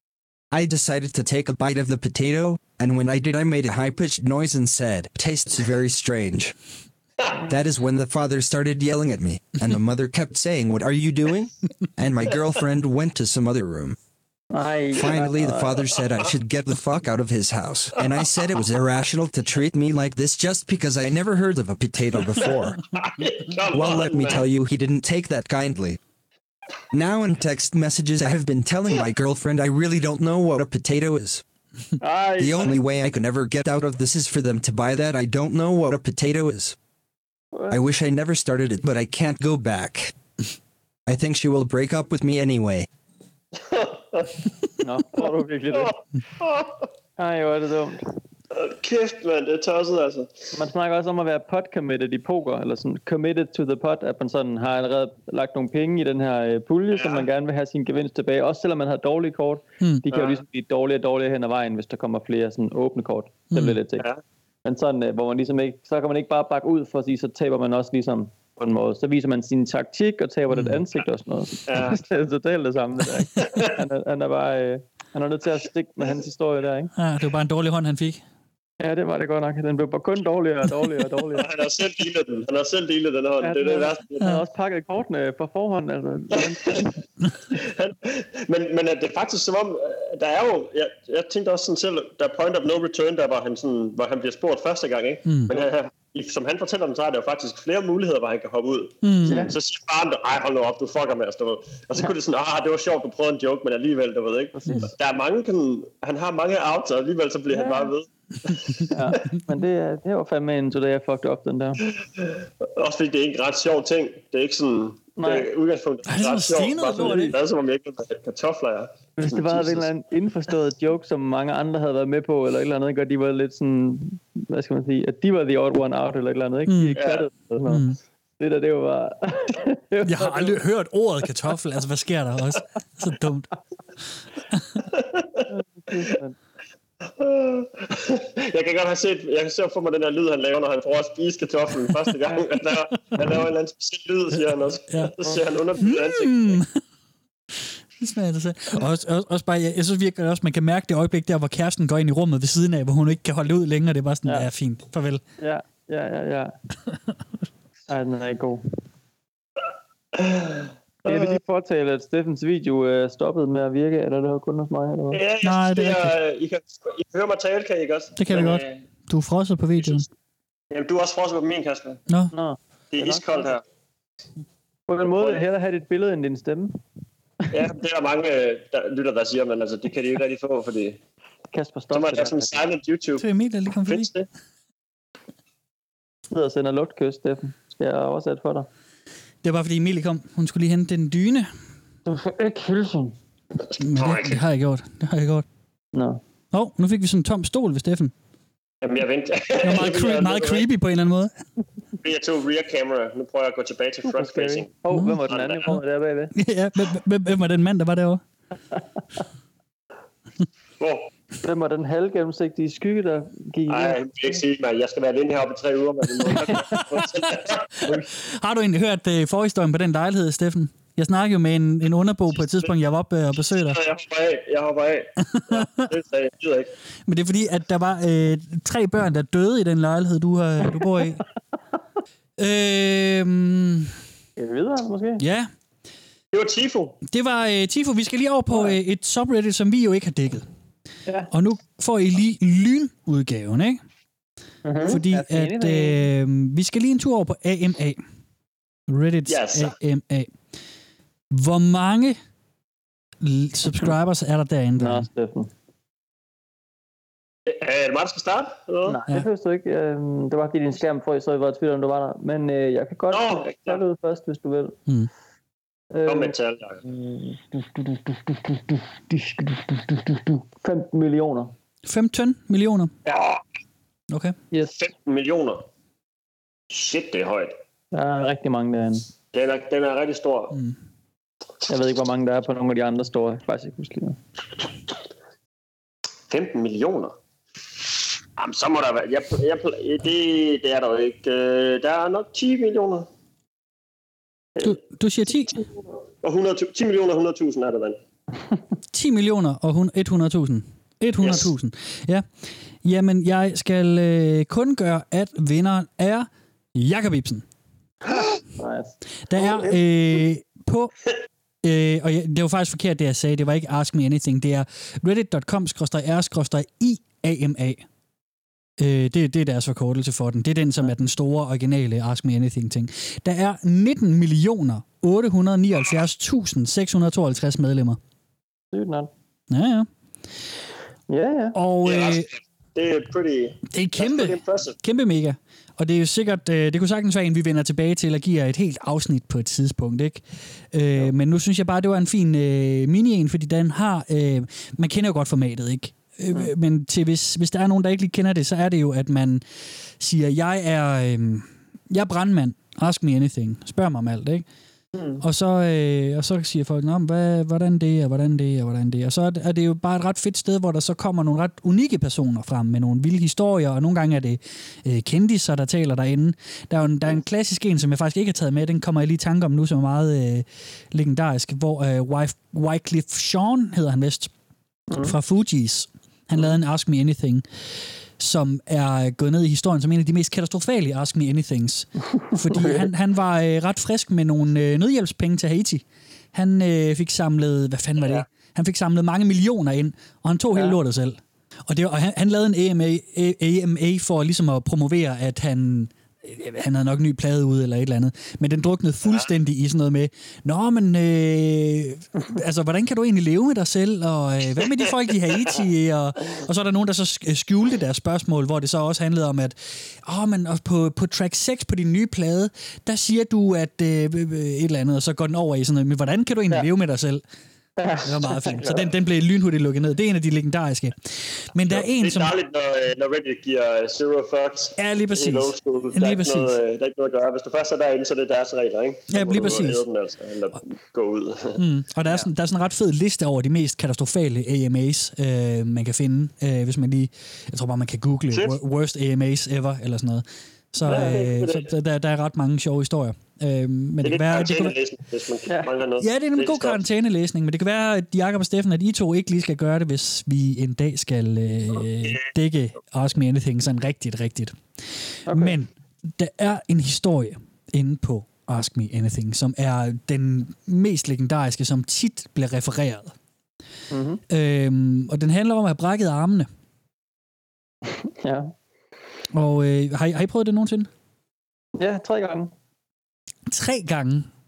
I decided to take a bite of the potato, and when I did I made a high-pitched noise and said, "Tastes very strange." That is when the father started yelling at me, and the mother kept saying, "What are you doing?" And my girlfriend went to some other room. Finally, the father said I should get the fuck out of his house, and I said it was irrational to treat me like this just because I never heard of a potato before. Well, let me tell you, he didn't take that kindly. Now in text messages I have been telling my girlfriend I really don't know what a potato is. The only way I can ever get out of this is for them to buy that I don't know what a potato is. I wish I never started it, but I can't go back. I think she will break up with me anyway. Nå, tror du virkelig det? Ej, hvor er det dumt. Kæft, mand, det er tosset, altså. Man snakker også om at være pot-committed i poker, eller sådan committed to the pot, at man sådan har allerede lagt nogle penge i den her pulje, som man gerne vil have sin gevinst tilbage. Også selvom man har dårlige kort. De kan jo ligesom blive dårligere og dårligere hen ad vejen, hvis der kommer flere sådan åbne kort. Det bliver lidt til. Men sådan, hvor man ligesom ikke, så kan man ikke bare bakke ud for at sige, så taber man også ligesom på en måde. Så viser man sin taktik og taber det ansigt og sådan noget. Ja. Det er totalt det samme, det der, ikke? Han er bare, han er nødt til at stikke med hans historie der, ikke? Ja, det var bare en dårlig hånd, han fik. Ja, det var det godt nok. Den blev bare kun dårligere og dårligere og dårligere. Han har selv dealet den. Han har selv dealet den hånd. Ja, det er det værste. Han har også pakket kortene på forhånd. Altså. men det er faktisk som om, der er jo, jeg tænkte også sådan selv, der er point of no return, der hvor han bliver spurgt første gang, ikke? Men som han fortæller den, så er der jo faktisk flere muligheder, hvor han kan hoppe ud. Så siger faren, ej, hold nu op, du fucker med os, du ved. Og så kunne det sådan, det var sjovt, du prøvede en joke, men alligevel, du ved, ikke? Der er mange, han har mange outs, og alligevel så bliver han bare ved. Ja, men det var fandme en today I fucked up, den der. Også fordi det er ikke en ret sjov ting. Det er ikke sådan... Det er udgangspunktet. Det er ret sjovt. Det er som om jeg ikke ved, kartofler er. Hvis det var en eller anden indforstået joke, som mange andre havde været med på, eller et eller andet, ikke? Og de var lidt sådan... Hvad skal man sige? At de var the odd one out, eller et eller andet, ikke? De ikke fattede sådan noget. Det der, det var bare... Jeg har aldrig hørt ordet kartoffel. Altså, hvad sker der også? Så dumt. Jeg kan godt have set, jeg kan se for mig den her lyd, han laver, når han får at spise kartoflen første gang. Han laver en eller anden speciel lyd, siger han også. Ja. Så ser han underbygget ansigt. Det smager det selv. Og også bare, jeg synes virkelig også, man kan mærke det øjeblik der, hvor kæresten går ind i rummet ved siden af, hvor hun ikke kan holde ud længere. Det er bare sådan, ja, fint. Farvel. Ja. Ej, den er ikke god. Jeg vil lige fortælle, at Steffens video stoppede med at virke, eller det var kun hos mig? Eller hvad? Ja, nej, det er I kan høre mig tale, kan I ikke også? Det kan vi godt. Du er frosset på videoen. Jamen, du er også frosset på min, Kasper. Nå. Det er iskoldt her. På en måde vil jeg hellere have dit billede end din stemme. Ja, det er der mange lytter, der siger, men altså, det kan de jo ikke rigtig få, fordi... Kasper, stop. Så må jeg have sådan en silent YouTube. Så Emil, der lige kom forbi. Findes det? sidder og sender lugtkys, Steffen. Skal jeg oversætte for dig? Det var bare fordi Emilie kom. Hun skulle lige hente den dyne. Du får ikke hilsen. Men det har jeg gjort. Nå. Nu fik vi sådan en tom stol ved Steffen. Jamen, jeg venter. Det var meget creepy på en eller anden måde. Jeg tog rear camera. Nu prøver jeg at gå tilbage til front facing. Hvem var den anden der bagved? Ja, hvem var den mand, der var derovre? Hvor? Hvem var den halvgennemsigtige skygge, der gik? Nej, jeg vil ikke sige, man. Jeg skal være alene heroppe i 3 uger. Har du egentlig hørt forhistorien på den lejlighed, Steffen? Jeg snakkede jo med en underbo på et tidspunkt, jeg var oppe og besøgte dig. Jeg hopper af. Det sagde jeg ikke. Men det er fordi, at der var 3 børn, der døde i den lejlighed, du bor i. Videre, måske? Ja. Det var Tifo. Det var Tifo. Vi skal lige over på et subreddit, som vi jo ikke har dækket. Ja. Og nu får I lige lynudgaven, ikke? Mm-hmm. Fordi at vi skal lige en tur over på AMA. Reddit's AMA. Hvor mange subscribers er der derinde? Nå, Steffen. Er det mig, der skal starte? Eller? Nej, det føles du ikke. Det var fordi din skærm frøs, så jeg var i tvivl, om du var der. Men jeg kan godt tage ud først, hvis du vil. Kom med et tal, 15 millioner. 15 millioner? Ja. Okay. Yes. 15 millioner. Shit, det er højt. Der er rigtig mange derinde. Den er rigtig stor. Jeg ved ikke, hvor mange der er på nogle af de andre store. Jeg kan faktisk ikke huske lige. 15 millioner? Jamen, så må der være... Det er der jo ikke. Der er nok 10 millioner. Du siger 10? Og 10 millioner og 100.000 er der vel. 10 millioner og 100.000. 100.000. Ja. Jamen, jeg skal kun gøre, at vinderen er Jakob Ibsen. Nice. Der er på... og det var faktisk forkert, det jeg sagde. Det var ikke Ask Me Anything. Det er reddit.com/r/IAMA. Det er deres forkortelse for den. Det er den, som er den store, originale Ask Me Anything-ting. Der er 19.879.652 medlemmer. Ja. Ja. Og det er kæmpe mega. Og det er jo sikkert, det kunne sagtens være en, vi vender tilbage til og giver et helt afsnit på et tidspunkt, ikke? Men nu synes jeg bare, det var en fin mini-en, fordi den har, man kender jo godt formatet, ikke? Men hvis der er nogen, der ikke lige kender det, så er det jo, at man siger, jeg er brandmand, ask me anything, spørg mig om alt, ikke? Og så siger folk, hvordan det, og hvordan det, og hvordan det. Og så er det jo bare et ret fedt sted, hvor der så kommer nogle ret unikke personer frem med nogle vilde historier, og nogle gange er det kendiser, der taler derinde. Der er en klassisk en, som jeg faktisk ikke har taget med, den kommer jeg lige i tanke om nu, som er meget legendarisk, hvor Wycliffe Jean hedder han vist, fra Fugees. Han lavede en Ask Me Anything, som er gået ned i historien som en af de mest katastrofale Ask Me Anythings. Fordi han var ret frisk med nogle nødhjælpspenge til Haiti. Han fik samlet, hvad fanden var det? Han fik samlet mange millioner ind, og han tog hele lortet selv. Og han lavede en AMA for ligesom at promovere, at han havde nok en ny plade ude eller et eller andet. Men den druknede fuldstændig i sådan noget med, altså, hvordan kan du egentlig leve med dig selv? Og hvad med de folk i Haiti? Og så er der nogen, der så skjulte deres spørgsmål, hvor det så også handlede om, at men på track 6 på din nye plade, der siger du, at et eller andet, og så går den over i sådan noget, men hvordan kan du egentlig leve med dig selv? Det var meget fint. Så den blev lynhurtigt lukket ned. Det er en af de legendariske. Men der er en, som... Det er dejligt, når Reddit giver zero fucks. Ja, lige præcis. Der er ikke noget at gøre. Hvis du først er derinde, så er det deres regler, ikke? Ja, lige præcis. Den, altså, eller gå ud. Og der er sådan en ret fed liste over de mest katastrofale AMAs, man kan finde, hvis man lige... Jeg tror bare, man kan google worst AMAs ever, eller sådan noget. Så der er ret mange sjove historier. Men det kan være, det er en god karantænelæsning, men det kan være, at Jakob og Steffen, at I to ikke lige skal gøre det, hvis vi en dag skal dække Ask Me Anything sådan rigtigt. Okay. Men der er en historie inde på Ask Me Anything, som er den mest legendariske, som tit bliver refereret. Mm-hmm. Og den handler om at have brækket armene. Ja. Og har I prøvet det nogensinde? Ja, 3 gange. 3 gange?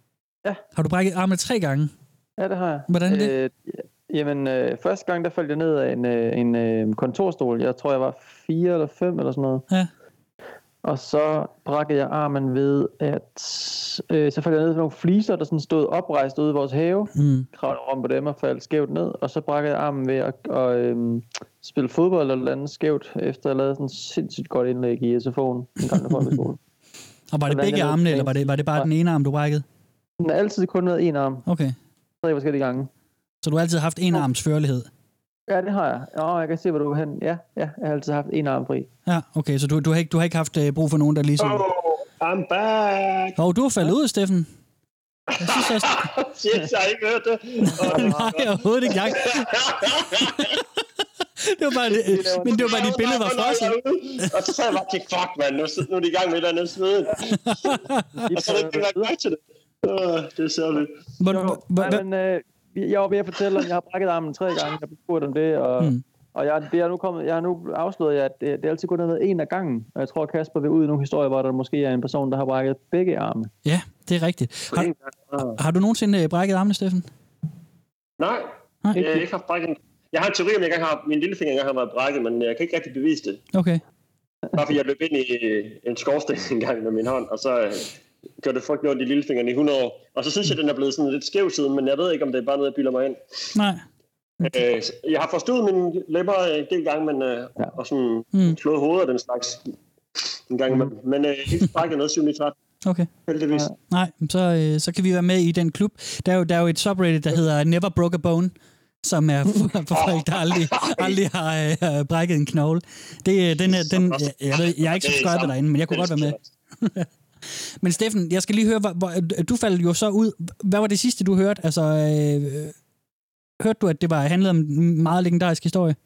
Ja. Har du brækket armene 3 gange? Ja, det har jeg. Hvordan det? Første gang, der faldt jeg ned af en kontorstol. Jeg tror, jeg var 4 eller 5 eller sådan noget. Ja. Og så brækkede jeg armen ved, at så faldt jeg ned på nogle fliser, der sådan stod oprejst ude i vores have. Kravlede om på dem og faldt skævt ned. Og så brækkede jeg armen ved at spille fodbold eller andet skævt, efter jeg lavede sådan et sindssygt godt indlæg i SFO'en en gang, der var i skole. Og var det begge armene, eller var det bare den ene arm, du brækkede? Den har altid kun været en arm. Okay. 3 forskellige gange. Så du har altid haft en arms førlighed? Ja, det har jeg. Jeg kan se, hvor du er hen. Ja, jeg har altid haft en arm fri. Ja, okay, så du har ikke haft brug for nogen, der ligesom... I'm back! Du har faldet ud, Steffen. Jeg synes også... Shit, jeg har ikke hørt det. Nej, overhovedet ikke. Det var bare det, men det var bare, dit billede var frosset. Og så sagde jeg bare, fuck, man, nu er de i gang med et eller andet sveden. Og så er det ikke lagt mærke til det. Det er særligt. Jeg var ved at fortælle, at jeg har brækket armen 3 gange. Jeg blev spurgt om det, og jeg har nu afsløret, at det altid kun har været en af gangen. Og jeg tror, Kasper vil ud i nogle historier, hvor der måske er en person, der har brækket begge arme. Ja, det er rigtigt. Har du nogensinde brækket armene, Steffen? Nej. Jeg har ikke haft brækket. Jeg har en teori om, jeg engang har min lillefinger engang har været brækket, men jeg kan ikke rigtig bevise det. Okay. Bare fordi jeg løb ind i en skorsten en gang med min hånd, og så gjorde det frygtelig ondt i lillefingeren i 100 år. Og så synes jeg, den er blevet sådan lidt skæv siden, men jeg ved ikke, om det er bare noget, jeg bilder mig ind. Nej. Okay. Jeg har forstået mine læber en del gange, men og sådan slået hovedet af den slags en gang imellem. Men ikke brækket noget 7-13. Okay. Heldigvis. Nej, så kan vi være med i den klub. Der er jo et subreddit, der hedder Never Broke a Bone, som er for folk, der aldrig har brækket en knogle. Jeg er ikke subscriber derinde, men jeg kunne godt være med. Men Steffen, jeg skal lige høre, du faldt jo så ud. Hvad var det sidste, du hørte? Altså, hørte du, at det handlede om en meget legendarisk historie?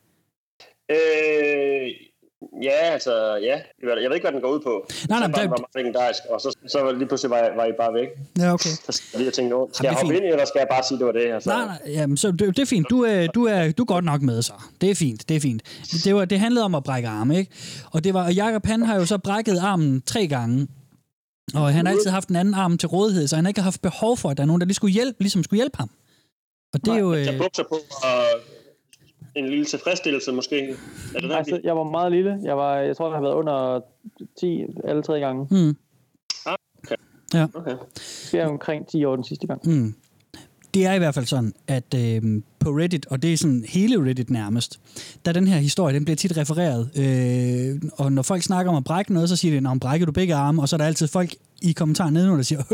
Ja. Jeg ved ikke, hvad den går ud på. Nej, det var meget legendarisk, og så lige pludselig var I bare væk. Ja, okay. Så jeg tænkte, skal jeg hoppe ind i, eller skal jeg bare sige, det var det? Altså. Nej, jamen, så det er fint. Du er godt nok med, så. Det er fint. Det handlede om at brække arme, ikke? Og Jakob, han har jo så brækket armen 3 gange. Og han har altid haft en anden arm til rådighed, så han har ikke haft behov for, at der er nogen, der skulle hjælpe ham. Og det er jo... Jeg bukser på, og en lille tilfredsstillelse måske. Er det altså, jeg var meget lille. Jeg tror, jeg har været under 10 alle 3 gange. Okay. Ja. Okay. Det er omkring 10 år den sidste gang. Det er i hvert fald sådan, at på Reddit, og det er sådan hele Reddit nærmest, der den her historie, den bliver tit refereret. Og når folk snakker om at brække noget, så siger de, brækker du begge arme? Og så er der altid folk i kommentaren nedenunder, der siger,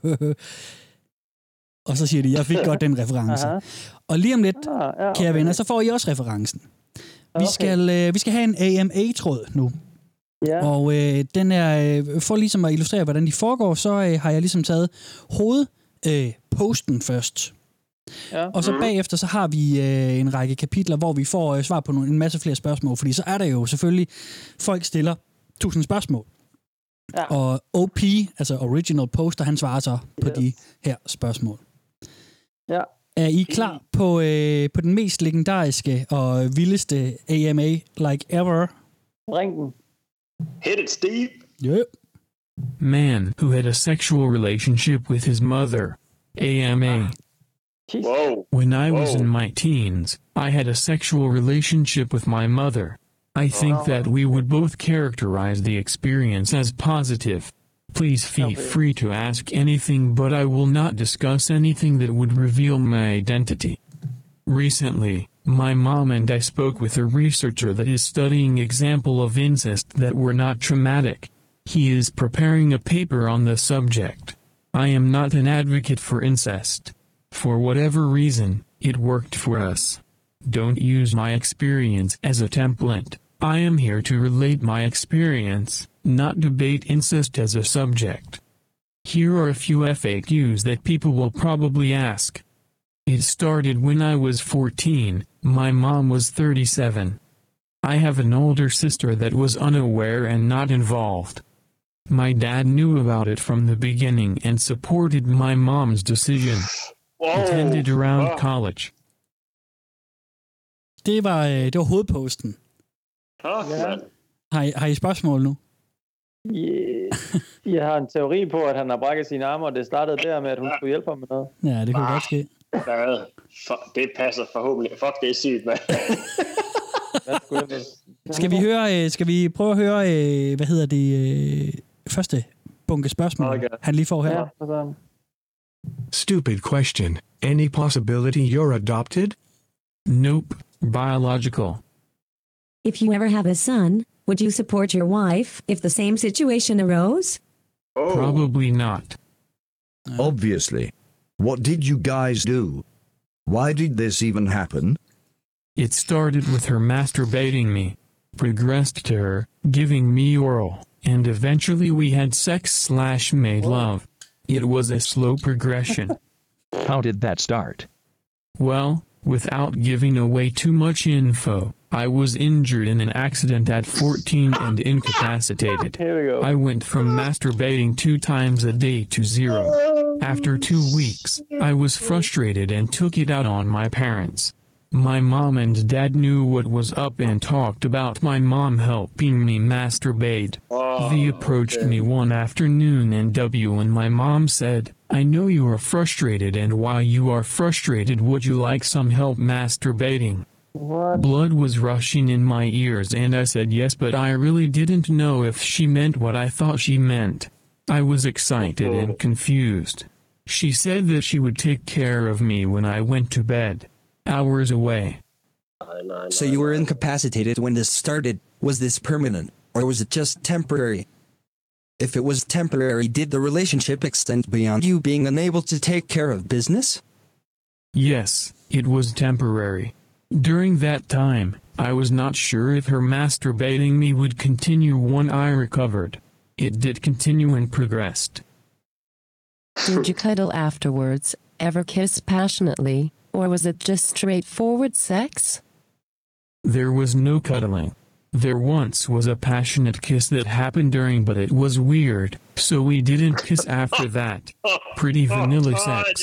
og så siger de, jeg fik godt den reference. Og lige om lidt, kære venner, så får I også referencen. Vi skal have en AMA-tråd nu. Ja. Og den er, for ligesom at illustrere, hvordan de foregår, så har jeg ligesom taget hovedposten først. Ja. Og så bagefter, så har vi en række kapitler, hvor vi får svar på en masse flere spørgsmål, fordi så er der jo selvfølgelig, folk stiller 1000 spørgsmål. Ja. Og OP, altså Original Poster, han svarer så på de her spørgsmål. Ja. Er I klar på den mest legendariske og vildeste AMA like ever? Ring den. Hit it, Steve. Yeah. Man who had a sexual relationship with his mother. AMA. Whoa. When I was in my teens, I had a sexual relationship with my mother. I think that we would both characterize the experience as positive. Please feel free to ask anything, but I will not discuss anything that would reveal my identity. Recently, my mom and I spoke with a researcher that is studying examples of incest that were not traumatic. He is preparing a paper on the subject. I am not an advocate for incest. For whatever reason, it worked for us. Don't use my experience as a template. I am here to relate my experience, not debate incest as a subject. Here are a few FAQs that people will probably ask. It started when I was 14, my mom was 37. I have an older sister that was unaware and not involved. My dad knew about it from the beginning and supported my mom's decision. Attended around college. Det var hovedposten. Ja. Har I spørgsmål nu? Jeg har en teori på, at han har brækket sine arme, og det startede der med, at hun skulle hjælpe ham med noget. Ja, det kunne godt ske. Det passer forhåbentlig. Fuck, det er sygt, mand. Skal vi prøve at høre, første bunke spørgsmål, han lige får her? Ja, Stupid question. Any possibility you're adopted? Nope. Biological. If you ever have a son, would you support your wife if the same situation arose? Probably not. Obviously. What did you guys do? Why did this even happen? It started with her masturbating me, progressed to her giving me oral, and eventually we had sex/made love. It was a slow progression. How did that start? Well, without giving away too much info, I was injured in an accident at 14 and incapacitated. Here we go. I went from masturbating 2 times a day to 0. After 2 weeks, I was frustrated and took it out on my parents. My mom and dad knew what was up and talked about my mom helping me masturbate. They approached me one afternoon and my mom said, I know you are frustrated, and while you are frustrated, would you like some help masturbating? What? Blood was rushing in my ears and I said yes, but I really didn't know if she meant what I thought she meant. I was excited and confused. She said that she would take care of me when I went to bed. Hours away. So you were incapacitated when this started. Was this permanent, or was it just temporary? If it was temporary, did the relationship extend beyond you being unable to take care of business? Yes, it was temporary. During that time, I was not sure if her masturbating me would continue when I recovered. It did continue and progressed. Did you cuddle afterwards, ever kiss passionately, or was it just straightforward sex? There was no cuddling. There once was a passionate kiss that happened during, but it was weird, so we didn't kiss after that. Pretty vanilla sex.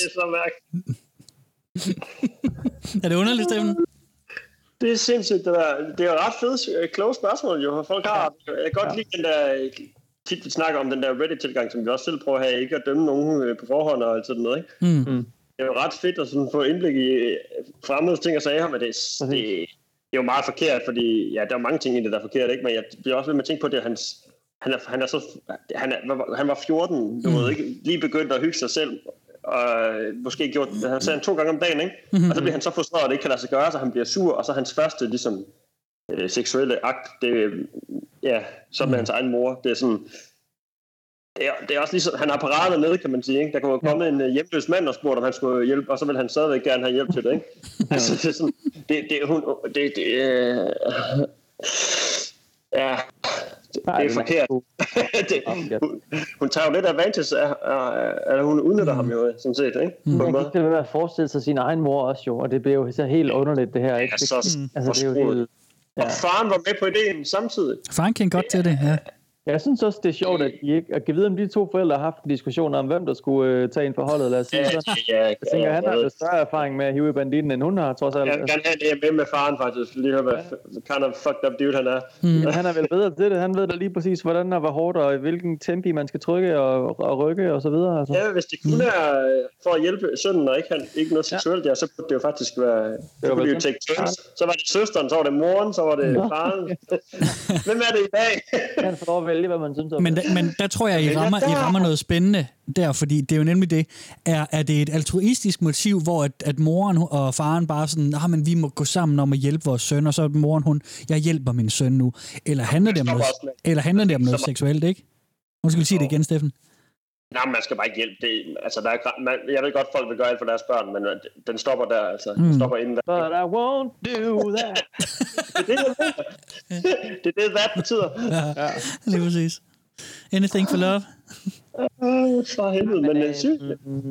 Er det underligt, Steffen? Det er sindssygt, det der. Det er jo ret fedt, kloge spørgsmål, jo. Folk har, jeg kan godt lide den der, tit vi snakker om den der Reddit-tilgang, som vi også selv prøver at have, ikke at dømme nogen på forhånd og sådan noget, ikke? Det er jo ret fedt at sådan få indblik i fremmede ting og sager, men det er jo meget forkert, fordi ja, der er mange ting i det, der er forkert, ikke? Men jeg bliver også ved med at tænke på, at han var 14, du ved ikke, lige begyndt at hygge sig selv, og måske gjort, han sagde 2 gange om dagen, ikke? Og så bliver han så frustreret, at det ikke kan lade sig gøre, så han bliver sur, og så hans første ligesom seksuelle akt, det så med hans egen mor, det er sådan, det er også ligesom, han har paraderne nede, kan man sige, ikke? Der kunne komme en hjemløs mand og spurgte, om han skulle hjælpe, og så vil han stadigvæk gerne have hjælp til det, ikke? Altså, det er sådan, det er forkert. Hun tager jo lidt advantage af, hun udnytter ham jo, sådan set, ikke? Man kan ikke være at forestille sig sin egen mor også jo, og det bliver jo så helt underligt, det her, ikke? Altså, det er jo helt... Og faren var med på ideen samtidig. Faren kendte godt til det, ja. Jeg synes også, det er sjovt, at kan vide, om de 2 forældre har haft en diskussion om, hvem der skulle tage ind for holdet, lad os sige sådan. Jeg tænker, han har jo større erfaring med at hive i banditten, end hun har, trods alt. Jeg vil gerne have det med faren, faktisk. Lige høre, hvad kind of fucked up dude han er. Men han er vel bedre til det. Han ved da lige præcis, hvordan og hvor hårdt, og hvilken tempi man skal trykke og rykke, og så videre. Altså. Ja, hvis det kun er for at hjælpe sønnen, og ikke noget seksuelt, så burde det jo faktisk være... Så var det søsteren, så var det moren, så var det faren. Hvem er det i dag? Han får lov at vælge, hvad man synes om. Men der tror jeg, I rammer noget spændende der, fordi det er jo nemlig det. Er det et altruistisk motiv, hvor at moren og faren bare sådan, men vi må gå sammen om at hjælpe vores søn, og så moren, jeg hjælper min søn nu. Eller handler det om noget seksuelt, ikke? Nu skal vi sige det igen, Steffen. Nej, man skal bare ikke hjælpe det. Altså, jeg ved godt, folk vil gøre alt for deres børn, men den stopper der, altså. Den stopper inden der. But I won't do that. Det er det, hvad betyder. Ja, lige præcis. Anything for love? For helvede, men det er sygt.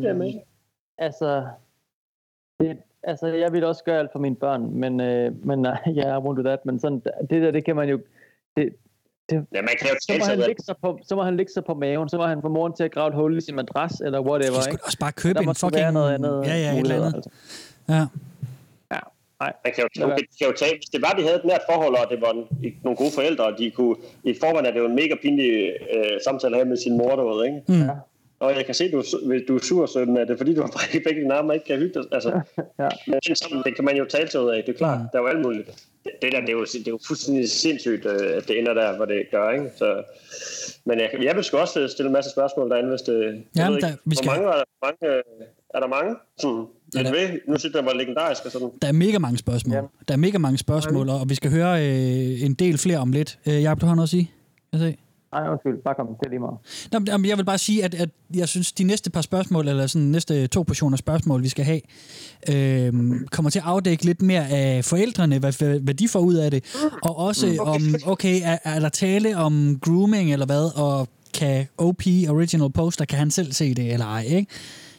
Altså, jeg vil også gøre alt for mine børn, men I won't do that, men sådan, det kan man jo... man kan jo så må han ligge sig på maven, så må han få moren til at grave et hul i sin madras, eller whatever, ikke? Også bare købe en fucking... noget andet. Ja, et eller andet. Altså. Ja. Nej. Man kan jo tage, hvis det var, de havde et nært forhold, og det var nogle gode forældre, og de kunne, i forvejen er det jo en mega pinlig samtale her med sin mor, du ved, ikke? Mm. Og jeg kan se, du er sur, så er det fordi, du har brækket begge dine arme og ikke kan hygge dig. Altså, det kan man jo tale sig ud af, det er klart, der er jo alt muligt. Det er jo fuldstændig sindssygt, at det ender der, hvor det gør, ikke? Så, men jeg vil sgu også stille en masse spørgsmål derinde, hvis det... Jamen, Er der mange? Nu synes jeg, det var legendarisk og sådan. Der er mega mange spørgsmål. Ja. Der er mega mange spørgsmål, og vi skal høre en del flere om lidt. Jacob, du har noget at sige? Jeg se. Nej, undskyld. Bare kom. Det er lige meget. Nå, jeg vil bare sige, at jeg synes, de næste par spørgsmål, eller sådan næste 2 portioner spørgsmål, vi skal have, kommer til at afdække lidt mere af forældrene, hvad de får ud af det, og også om, okay, er der tale om grooming eller hvad, og kan OP, Original Poster, kan han selv se det eller ej, ikke?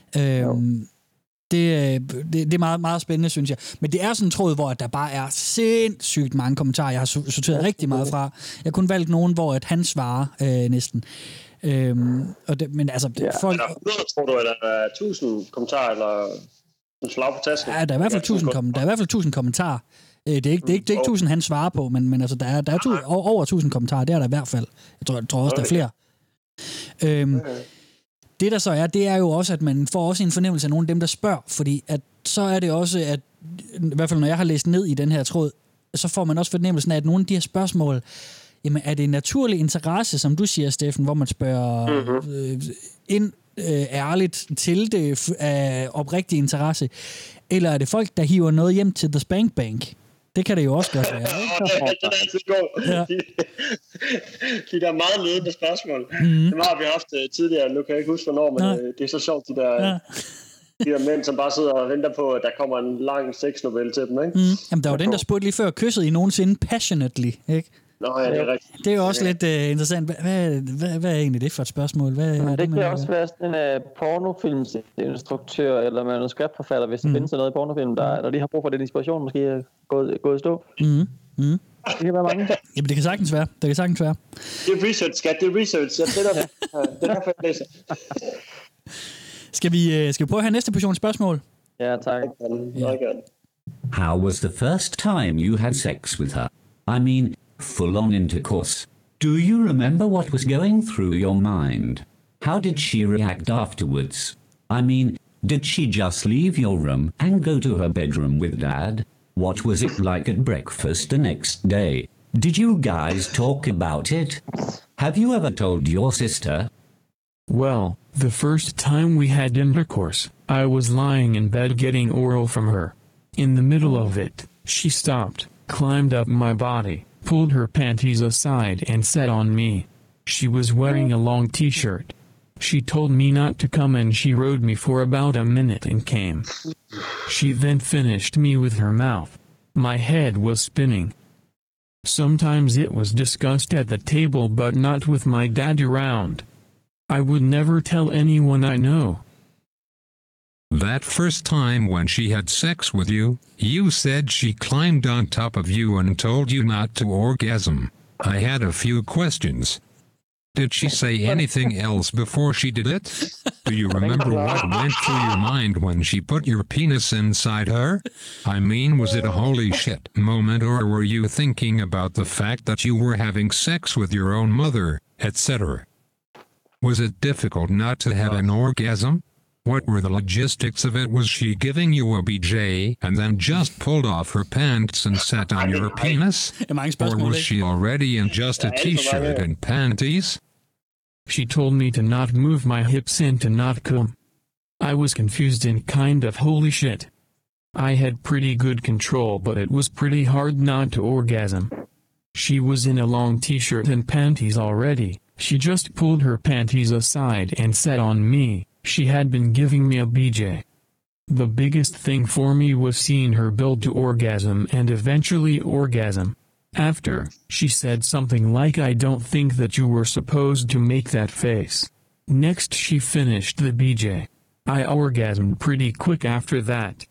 Det er meget, meget spændende, synes jeg. Men det er sådan en tråd, hvor der bare er sindssygt mange kommentarer. Jeg har sorteret rigtig meget fra. Jeg har kun valgt nogen, hvor at han svarer næsten. Men altså... Folk... Er der 100, tror du, eller er der 1000 kommentarer, eller en slag på tasken? Ja, der er i hvert fald 1000 kommentarer. Det er ikke 1000, han svarer på, men altså, der er over 1000 kommentarer. Det er der i hvert fald. Jeg tror også, der er flere. Det der så er, det er jo også, at man får også en fornemmelse af nogle af dem, der spørger, fordi at så er det også, at i hvert fald når jeg har læst ned i den her tråd, så får man også fornemmelsen af, at nogle af de her spørgsmål, jamen er det en naturlig interesse, som du siger, Steffen, hvor man spørger ærligt til det af oprigtig interesse, eller er det folk, der hiver noget hjem til The Spank Bank? Det kan det jo også godt være. Det er altid god. Ja. De der meget ledende spørgsmål. Dem har vi haft tidligere. Nu kan jeg ikke huske, hvornår, men det er så sjovt, de der mænd, som bare sidder og venter på, at der kommer en lang sexnovelle til dem, ikke? Jamen, der var den, der spurgte lige før, kyssede I nogensinde passionately, ikke? Nå, ja, det er rigtigt. Det er jo også lidt interessant. Hvad er egentlig det for et spørgsmål? Det kan også være sådan en pornofilmsinstruktør eller manuskriptforfatter, hvis der findes noget i pornofilm, der lige har brug for den inspiration, måske er gået i stå. Det kan være mange. Jamen, det kan sagtens være. Det er research, skat. Det er research. Det er derfor, jeg læser. Skal vi prøve at have næste portion spørgsmål? Ja, tak. How was the first time you had sex with her? I mean, full-on intercourse. Do you remember what was going through your mind? How did she react afterwards? I mean, did she just leave your room and go to her bedroom with Dad? What was it like at breakfast the next day? Did you guys talk about it? Have you ever told your sister? Well, the first time we had intercourse, I was lying in bed getting oral from her. In the middle of it, she stopped, climbed up my body, pulled her panties aside and sat on me. She was wearing a long t-shirt. She told me not to come and she rode me for about a minute and came. She then finished me with her mouth. My head was spinning. Sometimes it was discussed at the table but not with my dad around. I would never tell anyone I know. That first time when she had sex with you, you said she climbed on top of you and told you not to orgasm. I had a few questions. Did she say anything else before she did it? Do you remember what went through your mind when she put your penis inside her? I mean, was it a holy shit moment, or were you thinking about the fact that you were having sex with your own mother, etc.? Was it difficult not to have an orgasm? What were the logistics of it? Was she giving you a BJ and then just pulled off her pants and sat on your penis? Or was she already in just a t-shirt and panties? She told me to not move my hips and to not come. I was confused and kind of holy shit. I had pretty good control, but it was pretty hard not to orgasm. She was in a long t-shirt and panties already. She just pulled her panties aside and sat on me. She had been giving me a BJ. The biggest thing for me was seeing her build to orgasm and eventually orgasm. After, she said something like, "I don't think that you were supposed to make that face." Next she finished the BJ. I orgasmed pretty quick after that.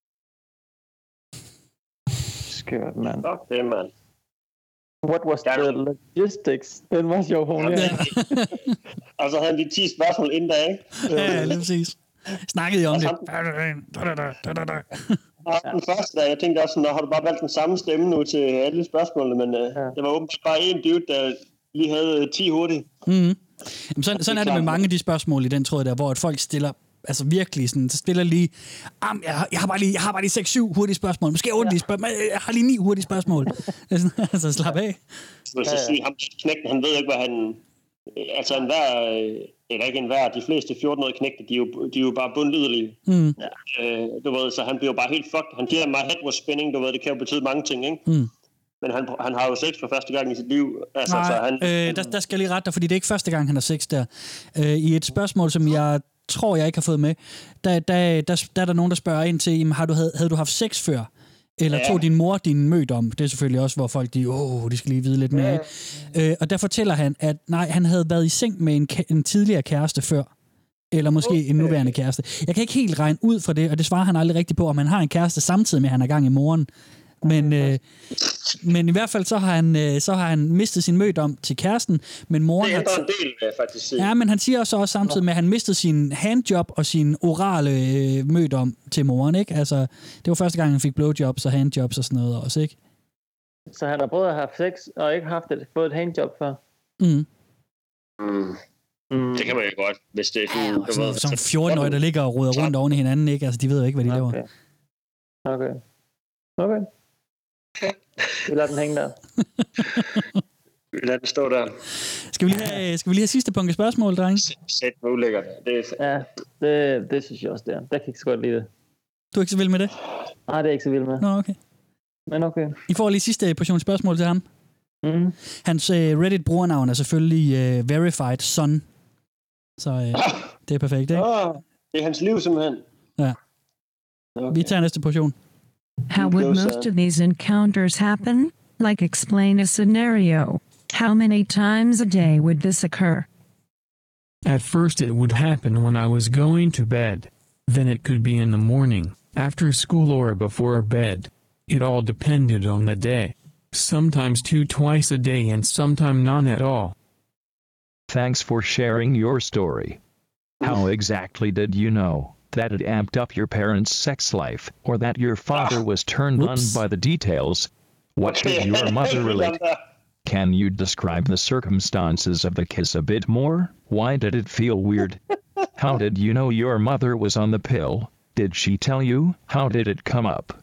Skørt, man. Fuck det, man. What was the logistics? Den var sjov, hun. Og så havde vi 10 spørgsmål inden da, ikke? Ja, lige præcis. Snakkede I om det? Den første der, jeg tænkte også, har du bare valgt den samme stemme nu til alle spørgsmålene, men det var åbenbart bare en dude, der lige havde 10 hurtigt. Mm. Sådan er det med mange af de spørgsmål i den tråd der, hvor at folk stiller, altså virkelig sådan, så stiller lige, jeg har bare lige 6-7 hurtige spørgsmål, måske 8 spørgsmål, jeg har lige 9 hurtige spørgsmål. Altså slap af. Så sige, ham knægten, han ved ikke, hvad han... Altså eller ikke enhver, de fleste 14-årige knægte, de er jo bare bundlydelige. Mm. Du ved, så han bliver jo bare helt fucked. Han giver mig head was spinning, du ved, det kan jo betyde mange ting, ikke? Mm. Men han har jo sex for første gang i sit liv. Altså, nej, så han... der skal jeg lige rette dig, fordi det er ikke første gang, han har sex der. I et spørgsmål, som jeg tror, jeg ikke har fået med, der er der nogen, der spørger ind til, havde du haft sex før? Eller tog din mor din mødom? Det er selvfølgelig også, hvor folk de skal lige vide lidt mere. Og der fortæller han, at nej, han havde været i seng med en tidligere kæreste før. Eller måske en nuværende kæreste. Jeg kan ikke helt regne ud fra det, og det svarer han aldrig rigtigt på, om han har en kæreste samtidig med, at han er gang i moren. Men i hvert fald så har han mistet sin mødom til kæresten, men moren det er en del, faktisk. Ja, men han siger også samtidig med, at han mistede sin handjob og sin orale mødom til moren, ikke? Altså, det var første gang, han fik blowjobs og handjobs og sådan noget også, ikke? Så han har både haft sex og ikke fået et handjob før? Det kan man jo godt, hvis det er sådan 14-årige, der ligger og roder rundt oven i hinanden, ikke? Altså, de ved jo ikke, hvad de laver. Okay. Vi lader den hænge der. Vi lader den stå der. Skal vi lige have sidste punkt af spørgsmål, drenge? Sæt hvor ulækkert. Det synes jeg også, det er. Der kan ikke så godt lide det. Du er ikke så vild med det? Nej, det er ikke så vild med. Nå, okay. Men okay. I får lige sidste portion spørgsmål til ham. Mm. Hans Reddit-brugernavn er selvfølgelig Verified Son. Så det er perfekt, ikke? Det er hans liv, simpelthen. Ja. Okay. Vi tager næste portion. How would most of these encounters happen? Like, explain a scenario. How many times a day would this occur? At first it would happen when I was going to bed. Then it could be in the morning, after school or before bed. It all depended on the day. Sometimes twice a day and sometimes none at all. Thanks for sharing your story. How exactly did you know that it amped up your parents' sex life, or that your father was turned on by the details? What did your mother relate? Can you describe the circumstances of the kiss a bit more? Why did it feel weird? How did you know your mother was on the pill? Did she tell you? How did it come up?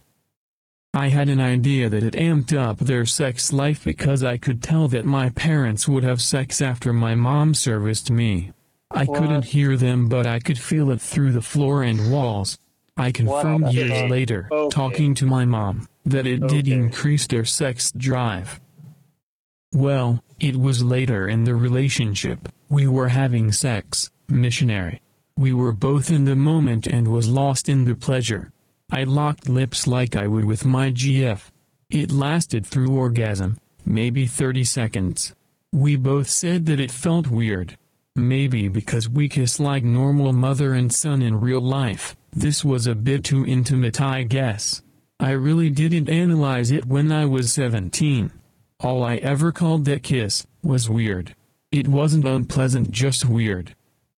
I had an idea that it amped up their sex life because I could tell that my parents would have sex after my mom serviced me. I couldn't hear them, but I could feel it through the floor and walls. I confirmed years later, talking to my mom, that it did increase their sex drive. Well, it was later in the relationship. We were having sex, missionary. We were both in the moment and was lost in the pleasure. I locked lips like I would with my GF. It lasted through orgasm, maybe 30 seconds. We both said that it felt weird. Maybe because we kiss like normal mother and son in real life, this was a bit too intimate, I guess. I really didn't analyze it when I was 17. All I ever called that kiss was weird. It wasn't unpleasant, just weird.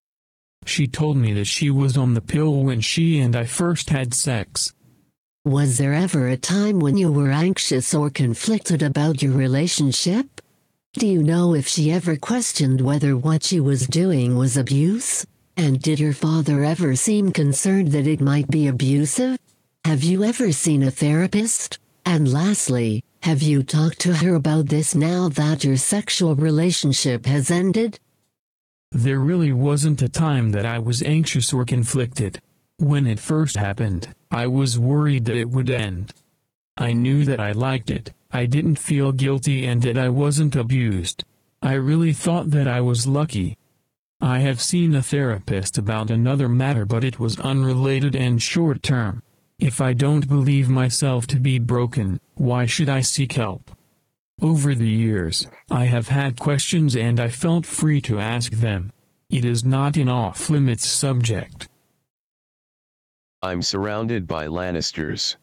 She told me that she was on the pill when she and I first had sex. Was there ever a time when you were anxious or conflicted about your relationship? Do you know if she ever questioned whether what she was doing was abuse? And did your father ever seem concerned that it might be abusive? Have you ever seen a therapist? And lastly, have you talked to her about this now that your sexual relationship has ended? There really wasn't a time that I was anxious or conflicted. When it first happened, I was worried that it would end. I knew that I liked it, I didn't feel guilty, and that I wasn't abused. I really thought that I was lucky. I have seen a therapist about another matter, but it was unrelated and short-term. If I don't believe myself to be broken, why should I seek help? Over the years, I have had questions and I felt free to ask them. It is not an off-limits subject. I'm surrounded by Lannisters.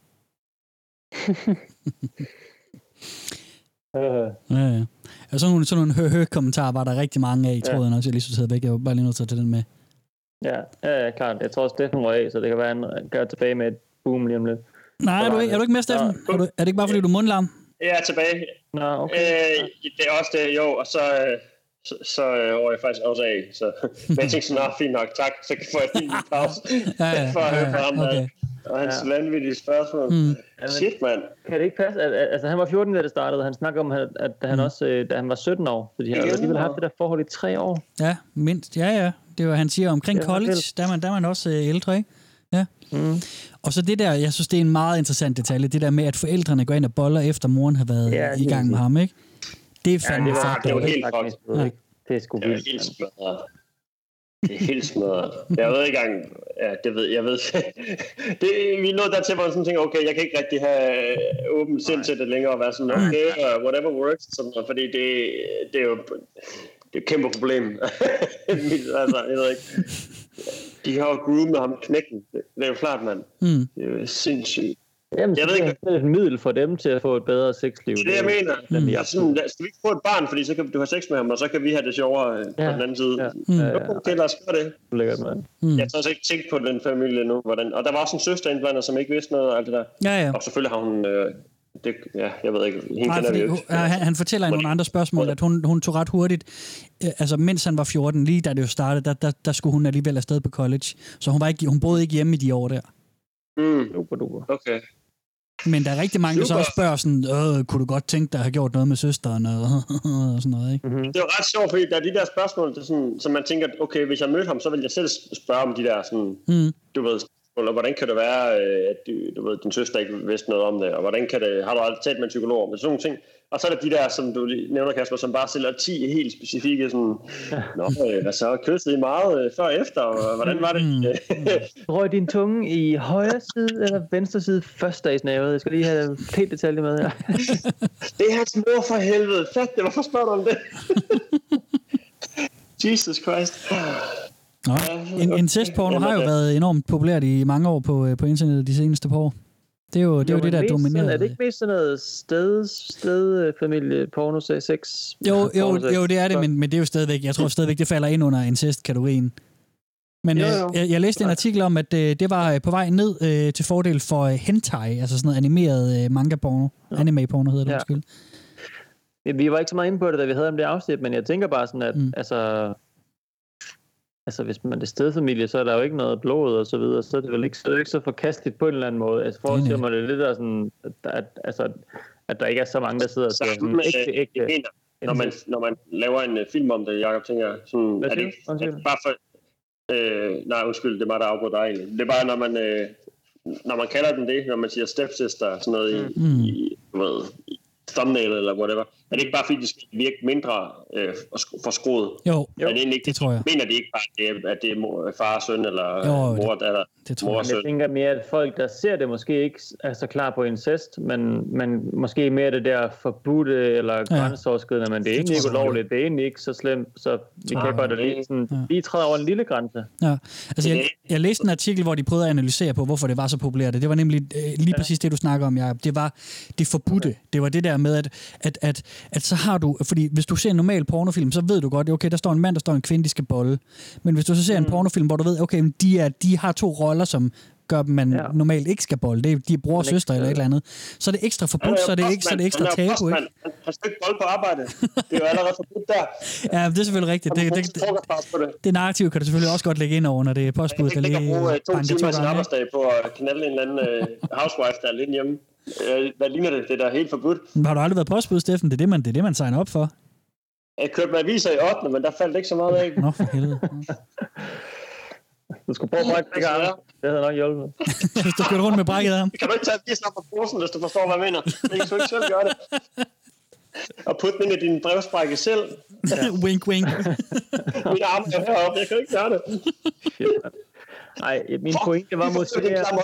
Ja. Og sådan nogle hø-hø-kommentarer var der rigtig mange af i tråden også. Jeg lige så taget væk. Jeg var bare lige nødt til at tage den med. Ja, klart. Jeg tror også, Steffen røg af, så det kan være, han gør tilbage med et boom lige om lidt. Nej, er du ikke med, Steffen? Er det ikke bare, fordi du er mundlam? Jeg er tilbage. Nå, okay. Det er også det, jo, og så over jeg faktisk også af. Så, men jeg tænkte sådan, fint nok, tak, så får jeg lige en pause for at høre på ham. Okay. Og hans vanvittige spørgsmål. Shit, mand. Kan det ikke passe? Altså, han var 14, da det startede. Han snakker om, at han også, da han var 17 år. Så de har alligevel haft det der forhold i 3 år. Ja, mindst. Ja. Det var, han siger, omkring college, der er man også ældre, ikke? Ja. Og så det der, jeg synes, det er en meget interessant detalje, det der med, at forældrene går ind og boller, efter moren har været i gang med ham, ikke? Det er fandme fucked. Det er jo helt fucked. Det er sgu vildt. Det er helt smadret. Jeg ved ikke engang... Ja, jeg ved. Vi er nået dertil, hvor man sådan tænker, okay, jeg kan ikke rigtig have åbent sind til det længere, og være sådan, okay, whatever works, sådan noget, fordi det er jo et kæmpe problem. Altså, jeg ved ikke. De har jo groomet ham knækken. Det er jo klart, mand. Det er jo sindssygt. Jamen, jeg ved ikke, det er et middel for dem til at få et bedre sexliv. Det er det, jeg mener. Skal vi ikke få et barn, fordi så kan du have sex med ham, og så kan vi have det sjovere på den anden side. Okay, lad os gøre det. Lækkert, mand. Jeg har også ikke tænkt på den familie nu. Hvordan. Og der var også en søster indblandet, som ikke vidste noget af alt det der. Ja. Og selvfølgelig har hun... jeg ved ikke. Hende kender vi jo ikke. Han fortæller i nogle andre spørgsmål, at hun tog ret hurtigt, altså mens han var 14, lige da det jo startede, der skulle hun alligevel afsted på college. Så hun boede ikke hjemme i de år der. Okay. Men der er rigtig mange, der så også spørger sådan, kunne du godt tænke dig at have gjort noget med søsteren og sådan noget, ikke? Det er jo ret sjovt, fordi der er de der spørgsmål, der sådan, som man tænker, okay, hvis jeg mødte ham, så vil jeg selv spørge om de der sådan, du ved, og hvordan kan det være, at du ved, din søster ikke vidste noget om det, og hvordan kan det, har du aldrig talt med en psykolog om det, sådan nogle ting. Og så er der de der, som du nævner, Kasper, som bare stiller 10 helt specifikke, sådan, hvad så, kyssede I meget før og efter, og hvordan var det? Røg din tunge i højre side eller venstre side først i snævet? Jeg skal lige have helt detalje med her. Det er hans mor for helvede. Fat det, hvorfor spørger du om det? Jesus Christ. Incestporno har jo været enormt populært i mange år på internettet de seneste par år. Det er jo det, der dominerer. Er det ikke mest sådan noget stedfamilie, porno, sex? Jo, det er det, men det er jo stadigvæk, jeg tror stadigvæk, det falder ind under incest-kategorien. Men jeg læste en artikel om, at det var på vej ned til fordel for hentai, altså sådan noget animeret manga-porno. Anime-porno hedder det, undskyld. Vi var ikke så meget inde på det, da vi havde om det afsnit, men jeg tænker bare sådan, at altså hvis man er stedfamilie, så er der jo ikke noget blod og så videre, så er det vel ikke så forkasteligt på en eller anden måde. Altså forestiller mig det lidt der sådan, at der ikke er så mange, der sidder og siger sådan ægte. Når man laver en film om det, Jacob, tænker sådan, er det ikke bare for... nej, undskyld, det er mig, der afbryder dig egentlig. Det er bare, når man kalder den det, når man siger stepsister, sådan noget i thumbnail eller whatever. Er det ikke bare fordi, det skal virke mindre forskruet? Jo, det tror jeg. Mener de ikke bare, at det er far, søn eller mor, datter, mor, søn? Jeg tænker mere, at folk, der ser det, måske ikke er så klar på incest, men måske mere det der forbudte eller grænseoverskridende, men det er egentlig ikke ulovligt, det er egentlig ikke så slemt, så vi kan godt lige træde over en lille grænse. Ja, altså jeg læste en artikel, hvor de prøvede at analysere på, hvorfor det var så populært. Det var nemlig lige præcis det, du snakker om, Jacob. Det var det forbudte. Det var det der med, at så har du, fordi hvis du ser en normal pornofilm, så ved du godt, okay, der står en mand, der står en kvinde, de skal bolle. Men hvis du så ser en pornofilm, hvor du ved, okay, de har 2 roller, som gør dem, man normalt ikke skal bolle. Det er de bror og søster eller et eller andet. Så er det ekstra forbudt, så er det ekstra tabu, ikke? Han skal ikke bolle på arbejde. Det er jo allerede forbudt der. Ja, det er selvfølgelig rigtigt. Det narrativ kan du selvfølgelig også godt lægge ind over, når det er postbuddet, der lige banker 2 gange. Jeg kan ikke bruge 2 timer af sin arbejdsdag på at knalde en eller anden housewife, der er lidt hjemme. Hvad ligner det? Det er da helt forbudt. Har du aldrig været postbud, Steffen? Det er det, man signer op for. Jeg kørte med aviser i 8. men der faldt ikke så meget af. Nå, for helvede. Du skulle prøve at brække begge arme. Det havde nok hjulpet. Hvis du kørte rundt med brækket arm. Kan du ikke tage avisen op på posen, hvis du forstår, hvad jeg mener? Det kan du ikke selv gøre det. Og putte den ind i din brevsprække selv. Wink, wink. Mine arme er heroppe. Jeg kan ikke gøre det. Nej, min pointe var måske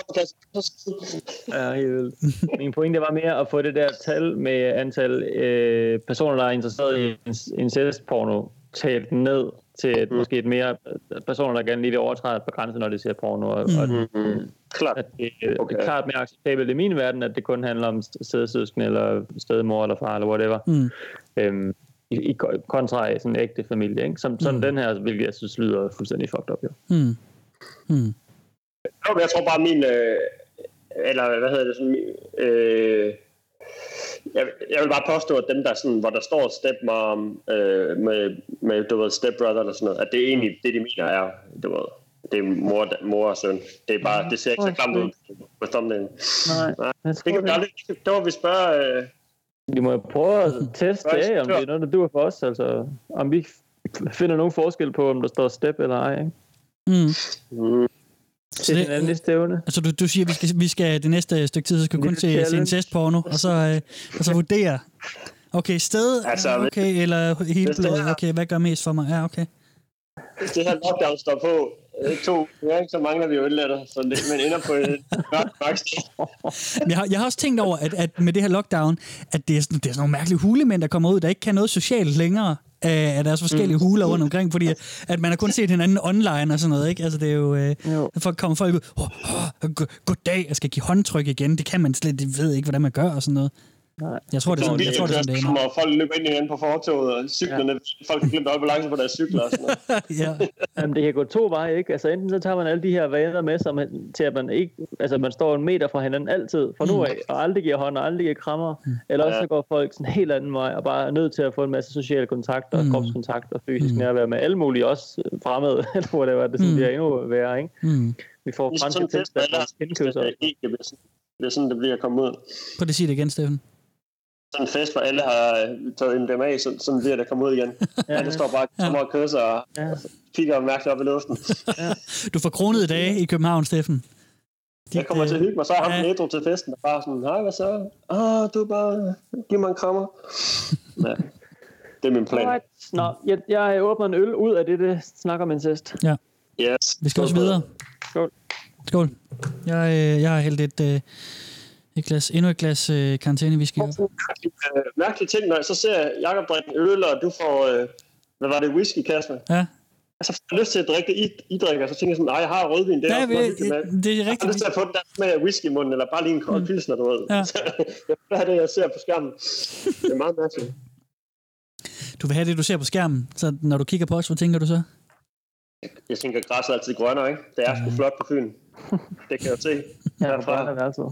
min pointe var mere at få det der tal med antal personer, der er interesseret i incestporno, talt ned til måske et mere personer, der gerne lige vil overtræde på grænsen, når de ser porno. Og klart. Det er klart mere acceptabelt i min verden, at det kun handler om stedsøskende, eller stedmor, eller far, eller whatever. I kontra sådan en ægte familie, ikke? Sådan den her, hvilket jeg synes lyder fuldstændig fucked up, jo. Jeg tror bare, eller hvad hedder det, sådan, jeg vil bare påstå, at dem der sådan, hvor der står stepmom med du ved, stepbrother eller sådan noget, at det er egentlig det, de mener er, du ved, det er mor og søn. Det er bare, det ser ikke så klamt ud på thumbnailen. Nej. Det kan vi aldrig, det var vi spørge... Vi må prøve at teste af, om det er noget, der duer for os, altså om vi finder nogen forskel på, om der står step eller ej, ikke? Så det, næste evne. Altså du siger, at vi skal det næste stykke tid, så skal vi kun se incestporno, og så vurdere. Okay, sted, okay, eller hele blodet, okay, hvad gør mest for mig? Ja, okay. Hvis det her lockdown står på 2 uger, så mangler vi jo ølletter, så man ender på et mørkt sted. Jeg har også tænkt over, at med det her lockdown, at det er sådan nogle mærkelige hulemænd, der kommer ud, der ikke kan noget socialt længere af deres forskellige huler rundt omkring, fordi at man har kun set hinanden online og sådan noget, ikke? Altså det er jo... kommer folk ud, goddag, jeg skal give håndtryk igen, det kan man slet, det ved ikke, hvordan man gør og sådan noget. Nej. Jeg tror, det er sådan, det er. Folk løber ind igen på fortovet, og cyklerne, folk har glemt at balance på deres cykler og sådan noget. Jamen, det kan gå 2 veje, ikke? Altså enten så tager man alle de her vaner med sig til, at man ikke, altså man står 1 meter fra hinanden altid, fra nu af, og aldrig giver hånd og aldrig giver krammer. Eller også så går folk sådan en helt anden vej, og bare er nødt til at få en masse sociale kontakter, og kropskontakt og fysisk nærvær med alle mulige, også fremmede, eller hvor det var, det sådan bliver endnu værre, ikke? Vi får franske tilstande, indkøbser. Det er sådan, det bliver at komme ud. Prøv at sige det igen, Steffen. Sådan en fest, hvor alle har taget MDMA, sådan bliver det komme ud igen. Alle står bare og kører sig og kigger mærkeligt op i luften. Du får kronede dage i København, Steffen. Jeg kommer til at hygge mig, så er ham Metro til festen, og bare sådan, hej, hvad så? Du er bare, giv mig en krammer. Ja, det er min plan. Nå, jeg åbner en øl ud af det snak om incest. Ja. Yes. Vi skal også videre. Skål. Skål. Jeg har hældt endnu et glas karantænewhisky op. Mærkelige ting, når jeg så ser Jakob drikke en øl, og du får, hvad var det, whisky, Kasper? Ja. Altså, jeg har lyst til at drikke det, I drikker, så tænker jeg sådan, nej, jeg har rødvin, det er også noget, det er rigtigt. Jeg har lyst til at få den der smag af whisky i munden, eller bare lige en kold pilsner, du ved. Ja. Jeg vil have det, jeg ser på skærmen. Det er meget mærkeligt. Du vil have det, du ser på skærmen, så når du kigger på os, hvad tænker du så? Jeg tænker, at græsset er altid grønnere, ikke? Det er sgu flot på Fyn. Det kan jeg se. Ja, det er det altså.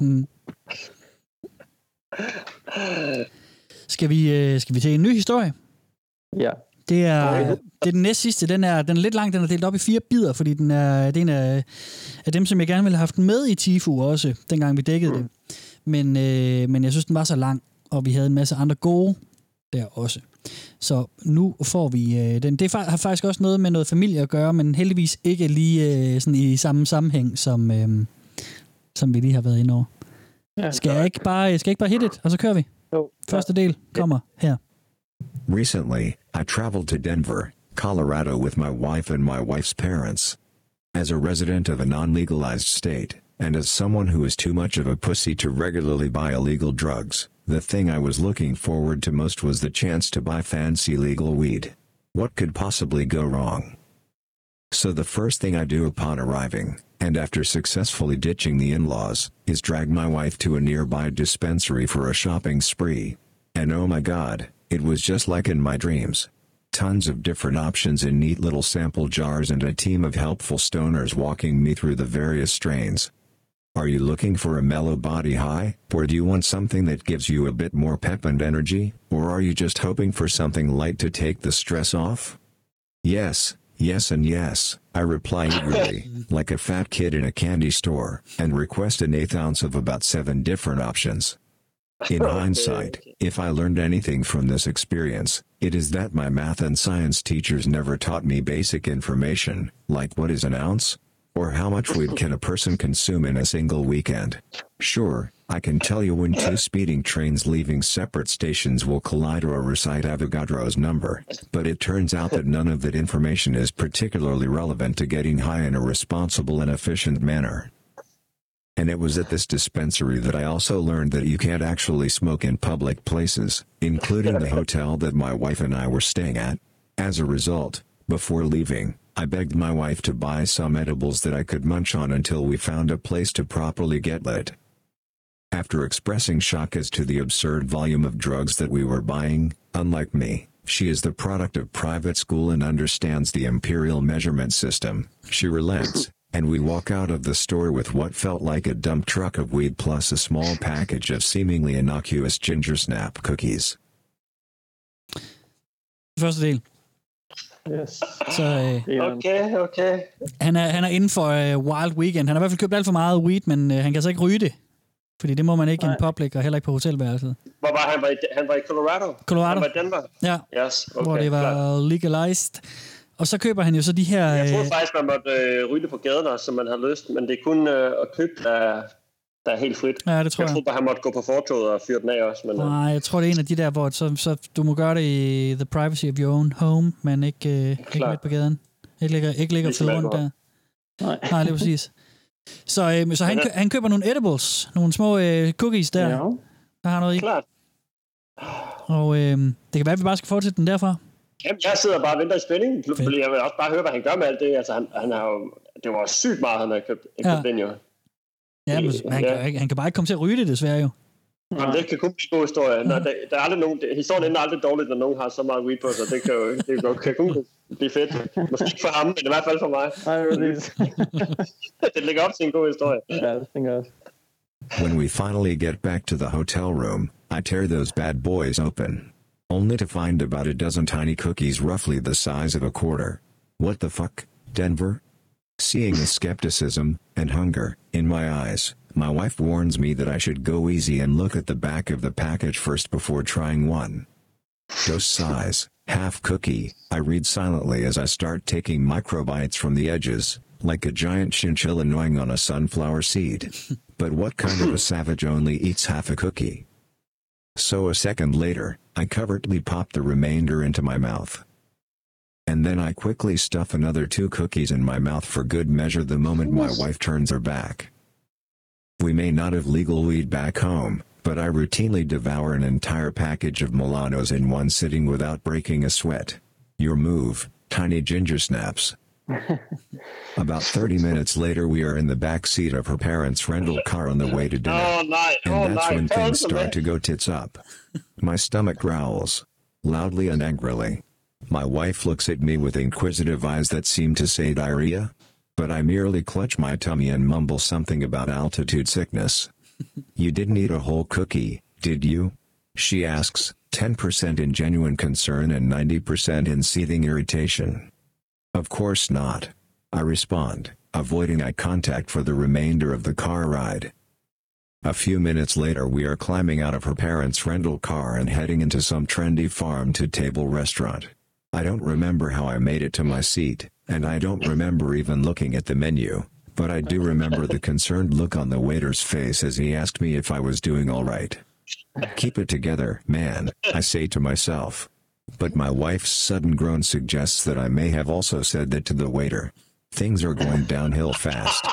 Skal vi til en ny historie? Ja. Det er den næst sidste. Den er lidt lang. Den er delt op i 4 bidder, fordi det er en af dem, som jeg gerne ville have haft med i Tifu også, dengang vi dækkede det. Men jeg synes, den var så lang, og vi havde en masse andre gode der også. Så nu får vi den. Det har faktisk også noget med noget familie at gøre, men heldigvis ikke lige sådan i samme sammenhæng, som vi lige har været inde over. Ja, skal jeg ikke bare hit it, og så kører vi? Jo. Første del kommer her. Recently, I traveled to Denver, Colorado with my wife and my wife's parents. As a resident of a non-legalized state, and as someone who is too much of a pussy to regularly buy illegal drugs, the thing I was looking forward to most was the chance to buy fancy legal weed. What could possibly go wrong? So the first thing I do upon arriving, and after successfully ditching the in-laws, is drag my wife to a nearby dispensary for a shopping spree. And oh my god, it was just like in my dreams. Tons of different options in neat little sample jars and a team of helpful stoners walking me through the various strains. Are you looking for a mellow body high, or do you want something that gives you a bit more pep and energy, or are you just hoping for something light to take the stress off? Yes, yes and yes, I reply eagerly, like a fat kid in a candy store, and request an 1/8 ounce of about 7 different options. In hindsight, if I learned anything from this experience, it is that my math and science teachers never taught me basic information, like what is an ounce? Or how much weed can a person consume in a single weekend? Sure, I can tell you when 2 speeding trains leaving separate stations will collide or recite Avogadro's number, but it turns out that none of that information is particularly relevant to getting high in a responsible and efficient manner. And it was at this dispensary that I also learned that you can't actually smoke in public places, including the hotel that my wife and I were staying at. As a result, before leaving, I begged my wife to buy some edibles that I could munch on until we found a place to properly get lit. After expressing shock as to the absurd volume of drugs that we were buying, unlike me, she is the product of private school and understands the imperial measurement system. She relents, and we walk out of the store with what felt like a dump truck of weed plus a small package of seemingly innocuous ginger snap cookies. Første del. Yes. Så, Okay. Han er inden for Wild Weekend. Han har i hvert fald købt alt for meget weed, men han kan så ikke ryge det. Fordi det må man ikke i en public, og heller ikke på hotelværelset. Hvor var han? Han var i Colorado? Colorado. Han var i Denver? Ja, yes, okay, hvor det var legalized. Og så køber han jo så de her... Jeg troede faktisk, man måtte ryge det på gaden, som man havde lyst, men det er kun at købe, der er helt frit. Ja, det tror jeg. Jeg troede bare, han måtte gå på fortovet og fyre den af også. Men, nej, jeg tror, det er en af de der, hvor så du må gøre det i the privacy of your own home, men ikke midt på gaden. Ikke ligger fed rundt der. Nej, lige præcis. Så han køber nogle edibles, nogle små cookies der. Ja. Der har noget i. Klart. Og det kan være, at vi bare skal fortsætte den derfra. Jamen, jeg sidder bare og venter i spænding. Jeg vil også bare høre, hvad han gør med alt det. Altså, han har jo... Det var sygt meget, han har købt den jo. Ja, men han kan bare ikke komme til at ryge det, desværre jo. Jamen, det kan kun blive en god historie. Der er aldrig nogen... Historien ender aldrig dårligt, når nogen har så meget weed på sig. Det kan kun blive fedt. Måske ikke for ham, men i hvert fald for mig. Det ligger op til en god historie. Ja, det tænker jeg også. When we finally get back to the hotel room, I tear those bad boys open, only to find about a dozen tiny cookies roughly the size of a quarter. What the fuck, Denver? Seeing the skepticism and hunger in my eyes, my wife warns me that I should go easy and look at the back of the package first before trying one. Dose size, half cookie, I read silently as I start taking microbites from the edges, like a giant chinchilla gnawing on a sunflower seed. But what kind of a savage only eats half a cookie? So a second later, I covertly pop the remainder into my mouth. And then I quickly stuff another 2 cookies in my mouth for good measure the moment my wife turns her back. We may not have legal weed back home, but I routinely devour an entire package of Milanos in one sitting without breaking a sweat. Your move, tiny ginger snaps. About 30 minutes later we are in the back seat of her parents' rental car on the way to dinner. And that's when things start to go tits up. My stomach growls, loudly and angrily. My wife looks at me with inquisitive eyes that seem to say diarrhea, but I merely clutch my tummy and mumble something about altitude sickness. You didn't eat a whole cookie, did you? She asks, 10% in genuine concern and 90% in seething irritation. Of course not, I respond, avoiding eye contact for the remainder of the car ride. A few minutes later we are climbing out of her parents' rental car and heading into some trendy farm-to-table restaurant. I don't remember how I made it to my seat, and I don't remember even looking at the menu, but I do remember the concerned look on the waiter's face as he asked me if I was doing all right. Keep it together, man, I say to myself. But my wife's sudden groan suggests that I may have also said that to the waiter. Things are going downhill fast.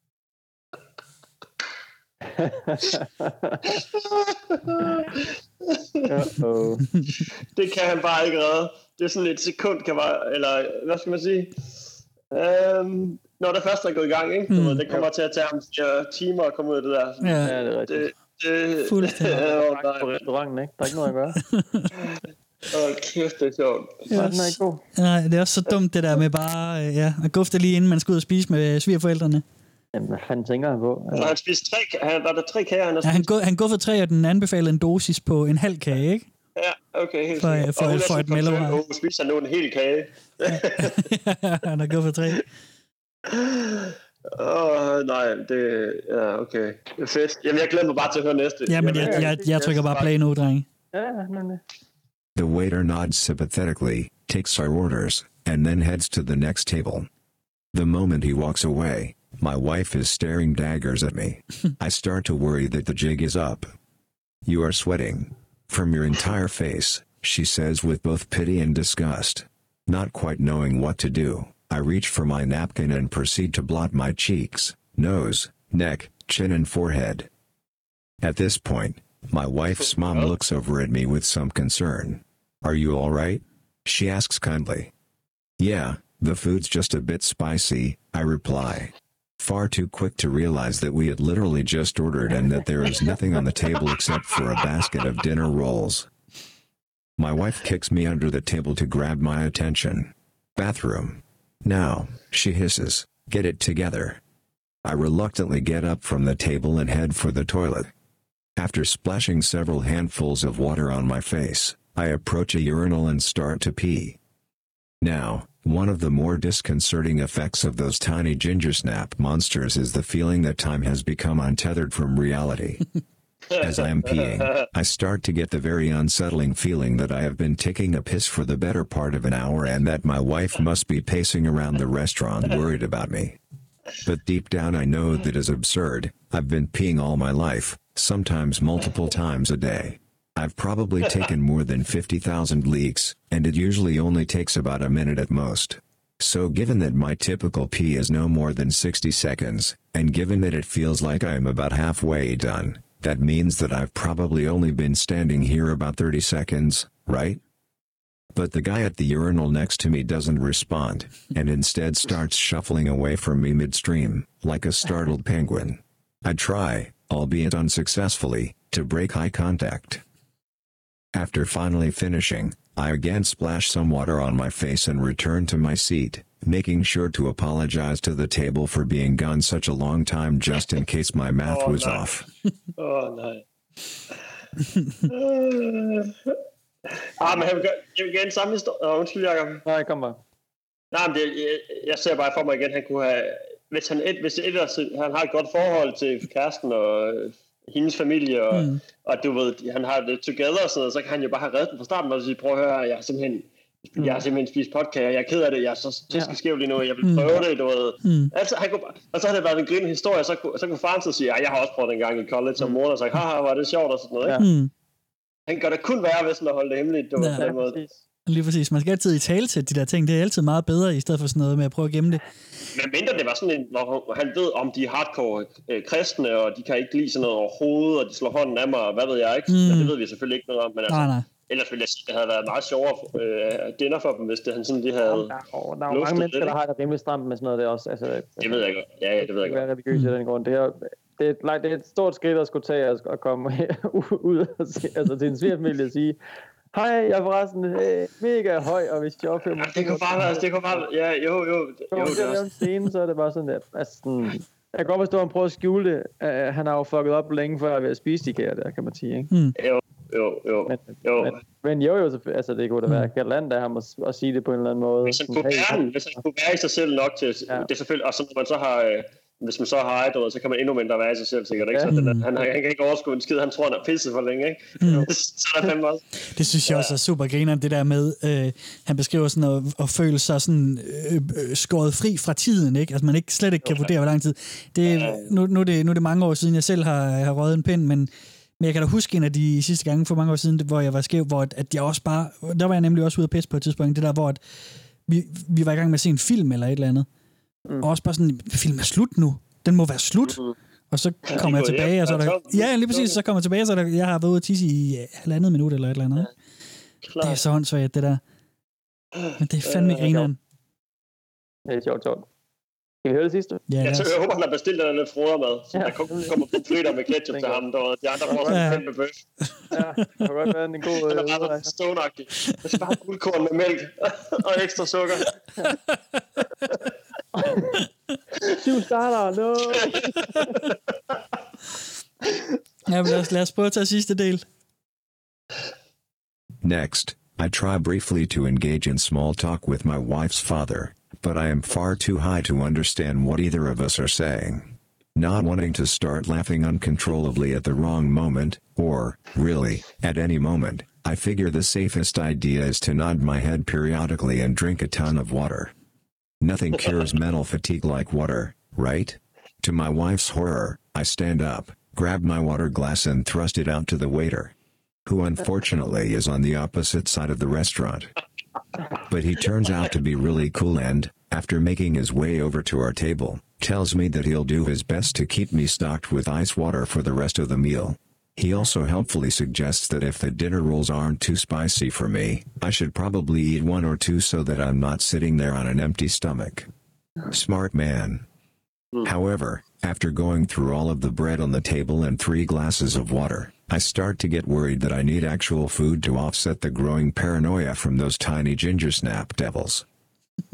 Det kan han bare ikke redde. Det er sådan et sekund, kan bare, eller hvad skal man sige? Når det først er gået i gang, ikke? Det kommer til at tage ham 4 timer at komme ud af det der. Ja, det er rigtigt. Fuldstændig. På restauranten, ikke? Der er ikke noget at gøre. Kæft, det er sjovt. Den er ikke god. Nej, det er også så dumt det der med bare at gufte lige inden man skal ud og spise med svigerforældrene. Jamen, hvad fanden tænker han på? Han spiste 3, var der 3 kager, han har spist? Han guffede 3, og den anbefalede en dosis på en halv kage, ikke? Ja, okay, helt sikkert. For et mellemrum. Og spiser nu en hel kage. Han har guffet 3. Nej, det... Ja, okay. Fedt. Jamen, jeg glæder mig bare til at høre næste. Jamen, jeg trykker bare play nu, drenge. Ja, nemlig. The waiter nods sympathetically, takes our orders, and then heads to the next table. The moment he walks away, my wife is staring daggers at me. I start to worry that the jig is up. You are sweating from your entire face, she says with both pity and disgust. Not quite knowing what to do, I reach for my napkin and proceed to blot my cheeks, nose, neck, chin and forehead. At this point, my wife's mom looks over at me with some concern. Are you all right? She asks kindly. Yeah, the food's just a bit spicy, I reply. Far too quick to realize that we had literally just ordered and that there is nothing on the table except for a basket of dinner rolls. My wife kicks me under the table to grab my attention. Bathroom. Now, she hisses, Get it together. I reluctantly get up from the table and head for the toilet. After splashing several handfuls of water on my face, I approach a urinal and start to pee. Now, one of the more disconcerting effects of those tiny ginger snap monsters is the feeling that time has become untethered from reality. As I am peeing, I start to get the very unsettling feeling that I have been taking a piss for the better part of an hour and that my wife must be pacing around the restaurant worried about me. But deep down I know that is absurd. I've been peeing all my life, sometimes multiple times a day. I've probably taken more than 50,000 leaks, and it usually only takes about a minute at most. So given that my typical pee is no more than 60 seconds, and given that it feels like I am about halfway done, that means that I've probably only been standing here about 30 seconds, right? But the guy at the urinal next to me doesn't respond, and instead starts shuffling away from me midstream, like a startled penguin. I try, albeit unsuccessfully, to break eye contact. After finally finishing, I again splash some water on my face and return to my seat, making sure to apologize to the table for being gone such a long time just in case my math was off. Nej. Men han vil gerne samme historie. Undskyld, Jacob. Nej, kom bare. Nej, men jeg ser bare for mig igen, han kunne have... Hvis han har et godt forhold til kæresten og hendes familie, og du ved, han har det together og sådan noget, så kan han jo bare have reddet den fra starten og sige, prøv at høre, jeg har simpelthen spist podcast, jeg er ked af det, jeg er så skæv lige nu, jeg vil prøve det, du ved. Altså, og så har det været en grinende historie, så kunne faren så sige, jeg har også prøvet en gang i college, og moren har sagt, haha, var det sjovt og sådan noget, ikke? Han gør det kun værre, hvis han holder det hemmeligt, du ved, på den måde. Lige præcis. Man skal altid i tale til de der ting. Det er altid meget bedre, i stedet for sådan noget med at prøve at gemme det. Men mindre det var sådan en, hvor han ved, om de er hardcore kristne, og de kan ikke lide sådan noget overhovedet, og de slår hånden af mig, og hvad ved jeg ikke. Men det ved vi selvfølgelig ikke noget om. Men altså, nej. Ellers ville jeg sige, det havde været meget sjovere dinner for dem, hvis det han sådan de havde... Der er jo mange mennesker, der har det rimelig stramt med sådan noget der også. Altså, det ved jeg godt. Ja, det ved jeg godt. Det er religiøst i den grund. Det er et stort skridt at skulle tage og komme ud og altså, til en svigerfamilie og sige, hej, jeg er forresten mega høj, og hvis jeg opfører mig... Det kunne bare være, ja, jo. Hvis jeg laver en scene, så er det bare sådan, at jeg kan godt forstå, at han prøver at skjule det. Han har jo fucket op længe før ved at spise de kære der, kan man sige, ikke? Jo. Men altså det kunne da være galant af ham at sige det på en eller anden måde. Hvis han kunne være i sig selv nok til... Det er selvfølgelig... Og så når man så har... Hvis man så har ejet, så kan man endnu mindre være i sig selv, sikkert, ikke? Så han kan ikke overskue en skid, han tror, han er pisset for længe, ikke? Så er der fandme også. Det synes jeg også er super grineren, det der med, han beskriver sådan at føle sig sådan skåret fri fra tiden, ikke? Altså man ikke slet ikke kan vurdere, hvor lang tid. Nu er det mange år siden, jeg selv har røget en pind, men jeg kan da huske en af de sidste gange for mange år siden, hvor jeg var skæv, hvor at jeg også bare, der var jeg nemlig også ude at pisse på et tidspunkt, det der, hvor at vi var i gang med at se en film eller et eller andet. Og også bare sådan, filmen er slut nu. Den må være slut. Og så kommer jeg tilbage, og så er der... Ja, lige præcis, så kommer jeg tilbage, så der, jeg har været ude at tisse i 1,5 minut eller et eller andet. Det er så håndsvagt, det der. Men det er fandme grineren. Det er sjovt. Kan vi høre det sidste? Ja, jeg håber, han har bestilt den lidt frodermad, så der kommer pomfritter med ketchup til ham. De andre får sådan en kæmpe bøf. Ja, det kan godt være en god... Den er meget stånagtig. Det skal bare have guldkorn med mælk og ekstra sukker. 7 starter, no! Ja, men lad os prøve at tage sidste del. Next, I try briefly to engage in small talk with my wife's father, but I am far too high to understand what either of us are saying. Not wanting to start laughing uncontrollably at the wrong moment, or, really, at any moment, I figure the safest idea is to nod my head periodically and drink a ton of water. Nothing cures mental fatigue like water, right? To my wife's horror, I stand up, grab my water glass and thrust it out to the waiter, who unfortunately is on the opposite side of the restaurant. But he turns out to be really cool and, after making his way over to our table, tells me that he'll do his best to keep me stocked with ice water for the rest of the meal. He also helpfully suggests that if the dinner rolls aren't too spicy for me, I should probably eat 1 or 2 so that I'm not sitting there on an empty stomach. Smart man. However, after going through all of the bread on the table and 3 glasses of water, I start to get worried that I need actual food to offset the growing paranoia from those tiny ginger snap devils.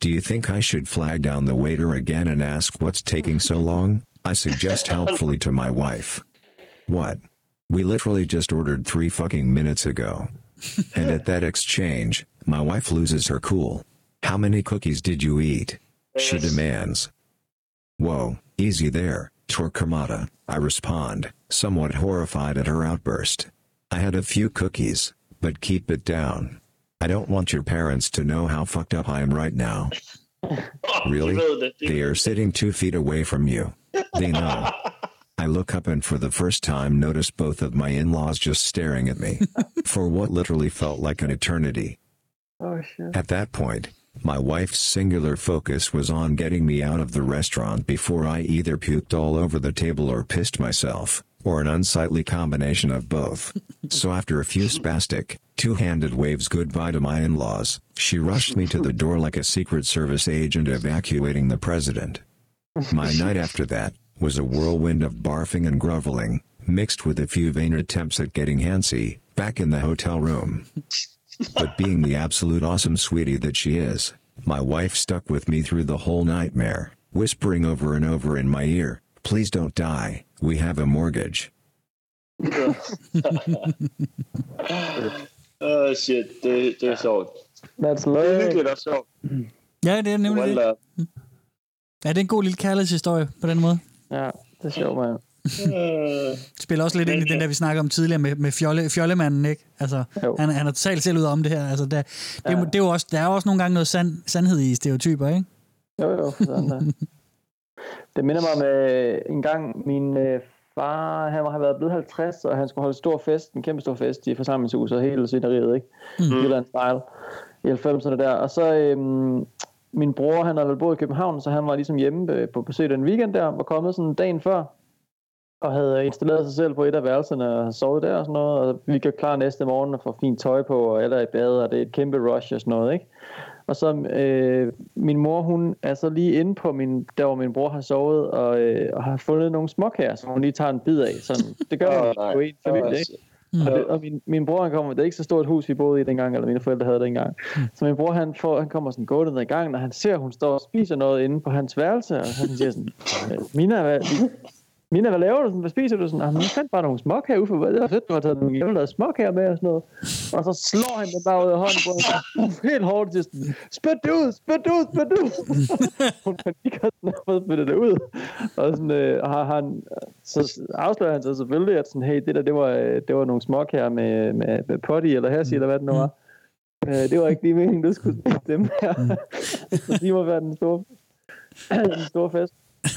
Do you think I should flag down the waiter again and ask what's taking so long? I suggest helpfully to my wife. What? We literally just ordered 3 fucking minutes ago. And at that exchange, my wife loses her cool. How many cookies did you eat? She demands. Whoa, easy there, Torquemada, I respond, somewhat horrified at her outburst. I had a few cookies, but keep it down. I don't want your parents to know how fucked up I am right now. Really? They are sitting 2 feet away from you. They know. I look up and for the first time notice both of my in-laws just staring at me. For what literally felt like an eternity. Oh, shit. At that point, my wife's singular focus was on getting me out of the restaurant before I either puked all over the table or pissed myself, or an unsightly combination of both. So after a few spastic, two-handed waves goodbye to my in-laws, she rushed me to the door like a Secret Service agent evacuating the president. My night after that was a whirlwind of barfing and groveling, mixed with a few vain attempts at getting handsy, back in the hotel room. But being the absolute awesome sweetie that she is, my wife stuck with me through the whole nightmare, whispering over and over in my ear, "Please don't die, we have a mortgage." Shit, det er sjovt. That's love. Det er hyggeligt og sjovt. Ja, det er nemlig det. Ja, det er en god lille kærlighedshistorie på den måde. Ja, det er sjovt, mand. Spiller også lidt ind i den der, vi snakker om tidligere med fjollemanden, ikke? Altså, han er totalt selv ud om det her. Altså, det er jo også, der er også nogle gange noget sandhed i stereotyper, ikke? Jo, sådan der. Det minder mig om en gang, min far, han har været blevet 50, og han skulle holde stor fest, en kæmpe stor fest i forsamlingshuset, og hele sceneriet, ikke? Jylland style, i 90'erne der. Og så min bror, han havde vel boet i København, så han var ligesom hjemme på besøg den weekend der, var kommet sådan dagen før, og havde installeret sig selv på et af værelserne og sovet der og sådan noget, og vi gør klar næste morgen og får fint tøj på, og alle er i bad, og det er et kæmpe rush og sådan noget, ikke? Og så min mor, hun er så lige inde på der hvor min bror har sovet, og har fundet nogle småkager, som hun lige tager en bid af. Sådan, det gør man jo i en familie, ikke? Og min bror, han kommer, det er ikke så stort hus, vi boede i dengang, eller mine forældre havde det engang. Så min bror, han kommer sådan gående ned i gangen, og han ser, hun står og spiser noget inde på hans værelse, og han siger sådan, Mina, hvad laver du? Hvad spiser du? Sådan, jeg fandt bare nogle småkager ud for, det var fedt, du har taget nogle hjemme småkager med og sådan noget. Og så slår han det bare ud af hånden på hende, helt hårdt til sådan, spyt det ud! Hun panikker, den har fået spyttet det ud. Og sådan, så afslører han sig selvfølgelig, at sådan, hey, det var nogle småkager med potty eller hersi, eller hvad det nu var. Det var ikke lige meningen, du skulle spise dem her. Så de må være den store fest.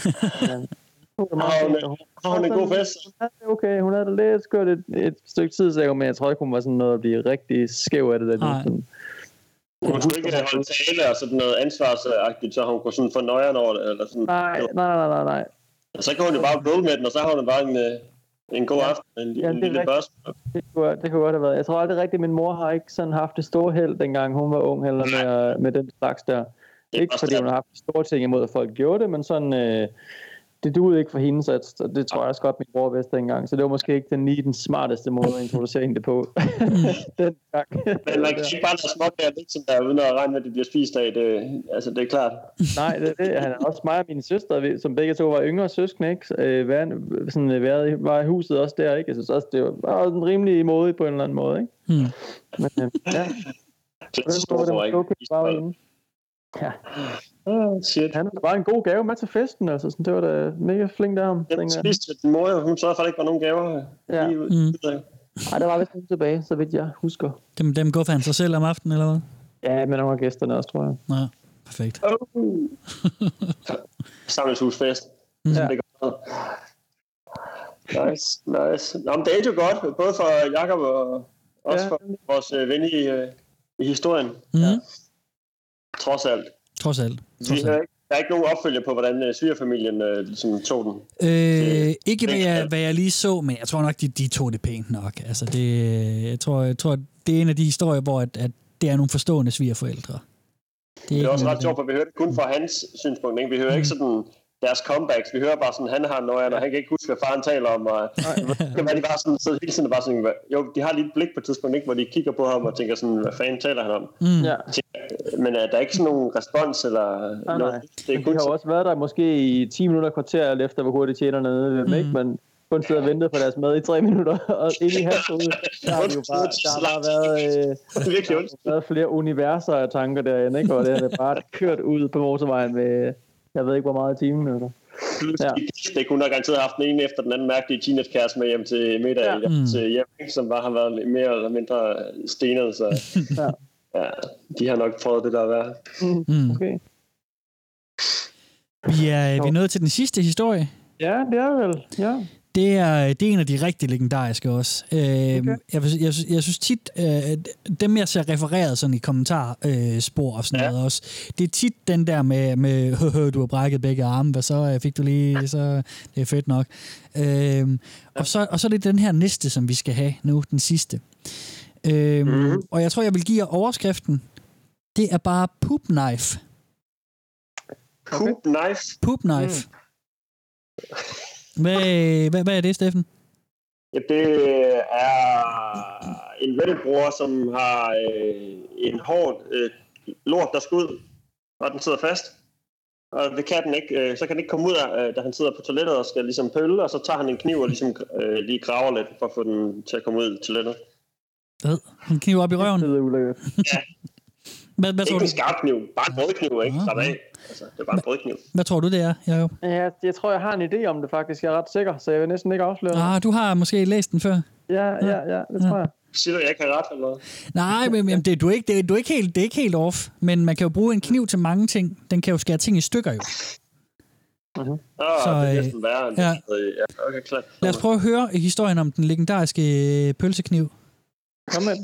Har hun en god fest? Okay, hun havde lidt skørt et stykke tid, så men jeg tror ikke, hun var sådan noget at blive rigtig skæv af det der. Hun skulle ikke holde tale og sådan noget ansvarsagtigt, så hun kunne sådan få nøjeren over det, eller sådan. Nej. Så kan hun jo bare roll med den, og så har hun bare en god aften, en lille børs. Det kunne godt have været. Jeg tror aldrig rigtigt, min mor har ikke sådan haft det store held, dengang hun var ung, heller med den slags der. Ikke fordi hun har haft store ting imod, at folk gjorde det, men sådan... det duede ikke for hende, så det tror jeg også godt, min bror vidste dengang. Så det var måske ikke den smarteste måde at introducere hende det på. Den gang. Men man kan ikke bare lade småkager lidt som der, uden at regne med, at de bliver spist af. Det er klart. Nej, det er det. Han er også mig og mine søstre, som begge to var yngre søskende, ikke? Var i huset også der, ikke? Jeg synes også, det var en rimelig modig på en eller anden måde, ikke? Men ja. Det står ikke. Ja. Shit. Han er bare en god gave med til festen, altså. Sådan, det var da mega flink af ham. Jeg spiste din mor, hun sørgede for, at der ikke var nogen gaver. Ja. Nej, der var vist nogen tilbage, så vidt jeg husker. Dem guffede han sig selv om aftenen, eller hvad? Ja, men nogle af gæsterne også, tror jeg. Ja, perfekt. Samlingshusfest. Ja. Nice. Nå, men det er jo godt, både for Jakob og også for vores ven i historien. Ja. Trods alt. Der er ikke nogen opfølger på, hvordan svigerfamilien ligesom tog den. Ikke hvad jeg lige så, men jeg tror nok, de tog det pænt nok. Altså jeg tror, det er en af de historier, hvor at det er nogle forstående svigerforældre. Det er også ret sjovt, for vi hører det kun fra hans synspunkt. Ikke? Vi hører ikke sådan deres comebacks. Vi hører bare sådan, han har noget, og han kan ikke huske, hvad faren taler om. Og de bare sådan, så hele tiden bare sådan, jo, de har lige et blik på et tidspunkt, ikke, hvor de kigger på ham og tænker sådan, hvad fanden taler han om? Ja. Men der er ikke sådan nogen respons eller noget. Det de har jo også været der måske i 10 minutter kvarter, efter hvor hurtigt tjener nede, ikke? Men kun sidder og ventet på deres mad i 3 minutter, og inde i hans hoved, der har bare været flere universer af tanker derinde, ikke? Og det er bare kørt ud på motorvejen med, jeg ved ikke hvor meget i timen. Altså. Ja. Det kunne have garanteret haft den ene efter den anden mærkelige teenagekæreste med hjem til middag, til hjem, som bare har været mere eller mindre stenet, så ja, de har nok prøvet det der at være. Okay. Vi er nået til den sidste historie. Ja, det er vel, ja. Det er en af de rigtig legendariske også. Okay. Jeg synes tit, dem jeg ser refereret sådan i kommentarspor og sådan noget også, det er tit den der med du har brækket begge arme, hvad så fik du lige, så det er fedt nok. Og så er det den her næste, som vi skal have nu, den sidste. Og jeg tror, jeg vil give jer overskriften. Det er bare poop knife. Poop knife? Poop knife. Hvad er det, Steffen? Ja, det er en Reddit-bruger, som har en hård lort, der skal ud, og den sidder fast. Og det kan den ikke, så kan den ikke komme ud af, da han sidder på toilettet og skal ligesom pølle, og så tager han en kniv og ligesom lige graver lidt, for at få den til at komme ud i toilettet. En kniv op i røven? Ja. Hvad ikke en skarp kniv, bare en brødkniv, ikke? Altså, det er bare en brødkniv. Hvad tror du, det er, Jacob? Ja, jeg tror, jeg har en idé om det faktisk. Jeg er ret sikker, så jeg vil næsten ikke afsløre. Du har måske læst den før? Ja, det tror jeg. Siger du, jeg ikke har ret eller noget? Nej, men det er ikke helt off. Men man kan jo bruge en kniv til mange ting. Den kan jo skære ting i stykker jo. Så, det er næsten værre end det. Okay, klart. Lad os prøve at høre historien om den legendariske pølsekniv. Kom med.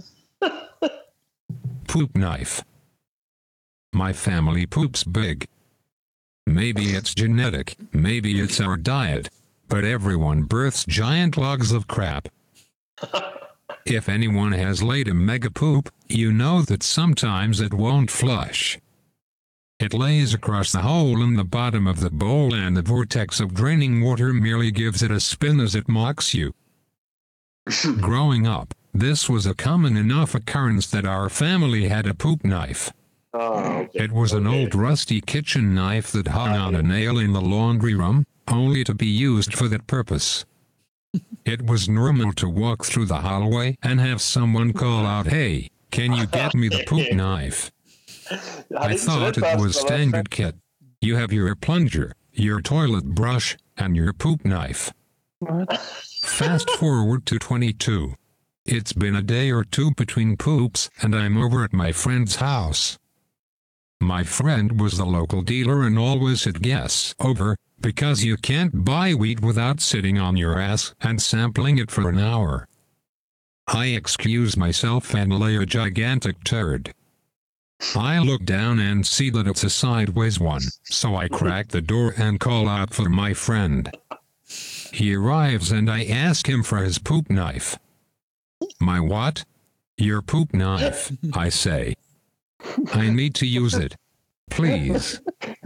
Poop knife. My family poops big. Maybe it's genetic, maybe it's our diet, but everyone births giant logs of crap. If anyone has laid a mega poop, you know that sometimes it won't flush. It lays across the hole in the bottom of the bowl, and the vortex of draining water merely gives it a spin as it mocks you. Growing up, this was a common enough occurrence that our family had a poop knife. It was an old rusty kitchen knife that hung on a nail in the laundry room, only to be used for that purpose. It was normal to walk through the hallway and have someone call out, "Hey, can you get me the poop knife?" I thought it was standard kit. You have your plunger, your toilet brush, and your poop knife. Fast forward to 22. It's been a day or two between poops, and I'm over at my friend's house. My friend was the local dealer and always had guests over, because you can't buy wheat without sitting on your ass and sampling it for an hour. I excuse myself and lay a gigantic turd. I look down and see that it's a sideways one, so I crack the door and call out for my friend. He arrives and I ask him for his poop knife. My what? Your poop knife, I say. I need to use it. Please.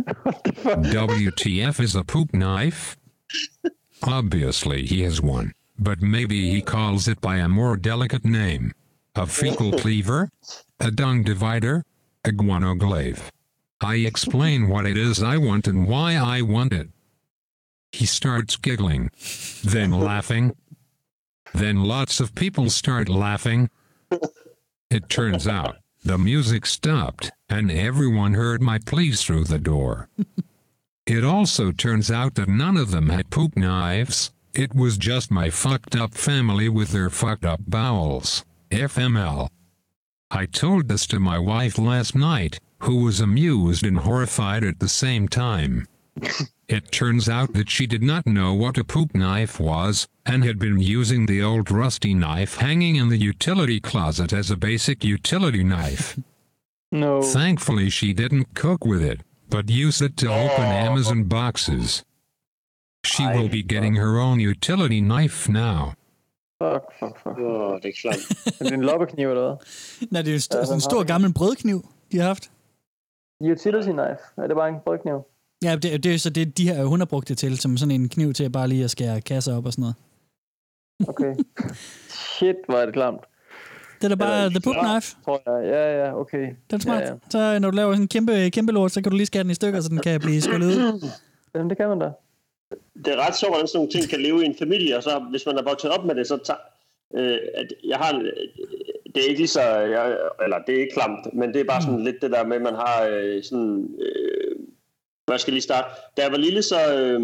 WTF is a poop knife? Obviously he has one, but maybe he calls it by a more delicate name. A fecal cleaver? A dung divider? A guanoglaive. I explain what it is I want and why I want it. He starts giggling, then laughing. Then lots of people start laughing. It turns out the music stopped, and everyone heard my pleas through the door. It also turns out that none of them had poop knives. It was just my fucked up family with their fucked up bowels. FML. I told this to my wife last night, who was amused and horrified at the same time. It turns out that she did not know what a poop knife was, and had been using the old rusty knife hanging in the utility closet as a basic utility knife. No. Thankfully she didn't cook with it, but used it to open Amazon boxes. She will be getting her own utility knife now. Fuck. Det er klart. Er det en loppekniv eller hvad? Nej, det er en stor gammel brødkniv, de har haft. Utility knife. Er det bare en brødkniv? Ja, det er så det, de her, hun har brugt det til, som sådan en kniv til bare lige at skære kasser op og sådan noget. Okay. Shit, hvor er det klamt. Det er da bare the poop knife. Tror jeg. Ja, okay. Det er smart. Ja. Så når du laver sådan en kæmpe lort, så kan du lige skære den i stykker, så den kan blive skålet ud. Jamen, det kan man da. Det er ret sjovt, hvordan sådan nogle ting kan leve i en familie, og så hvis man er vokset op med det, så at jeg har... Det er ikke lige så... eller det er ikke klamt, men det er bare sådan lidt det der med, at man har sådan... hvad skal jeg lige starte? Da jeg var lille, så...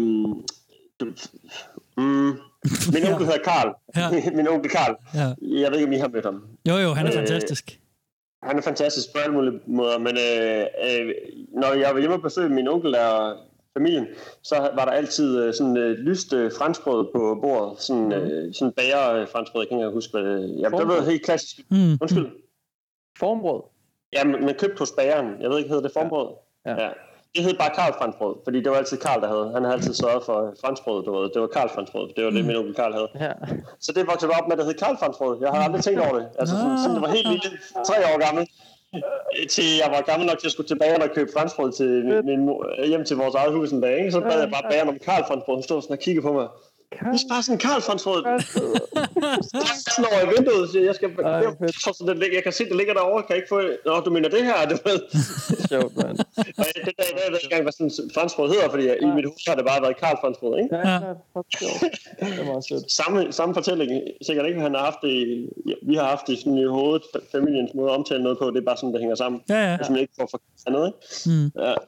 min onkel hedder Karl. Ja. Min onkel Karl. Ja. Jeg ved ikke, om I har mødt ham. Jo, han er fantastisk. Han er fantastisk på alle mulige måder, men når jeg var hjemme og besøgte min onkel og familien, så var der altid sådan lyst franskbrød på bordet. Sådan bager franskbrød, jeg kan ikke huske, hvad det... Det var helt klassisk. Undskyld. Formbrød? Ja, man købte hos bageren. Jeg ved ikke, hedder det formbrød? Ja. Det hed bare Karl franskbrød, fordi det var altid Karl, der havde. Han havde altid sørget for franskbrød, det var Karl franskbrød. Det var det, min onkel Karl havde. Ja. Så det voksede op med, at det hed Karl franskbrød. Jeg har aldrig tænkt over det. Altså, sådan, det var helt lille, 3 år gammel. Til jeg var gammel nok til at skulle tilbage og købe franskbrød til hjem til vores eget hus en dag. Ikke? Så bad jeg bare bageren om Karl franskbrød. Hun stod sådan og kiggede på mig. Det er bare sådan en Karl franskbrød. Sådan over i vinduet. Så jeg kan se, det ligger derovre. Kan jeg ikke få... Nå, du mener det her? Det ved sjovt, mand. Det der, jeg ved ikke engang, hvad sådan en franskbrød hedder, fordi i mit hus har det bare været Karl franskbrød, ikke? Ja, det var sødt. Samme fortælling. Sikkert ikke, han har haft det... Vi har haft det sådan i hovedet. Familiens måde at omtale noget på, det er bare sådan, det hænger sammen. Ja. Hvis man ikke får forkert noget, ikke? Ja.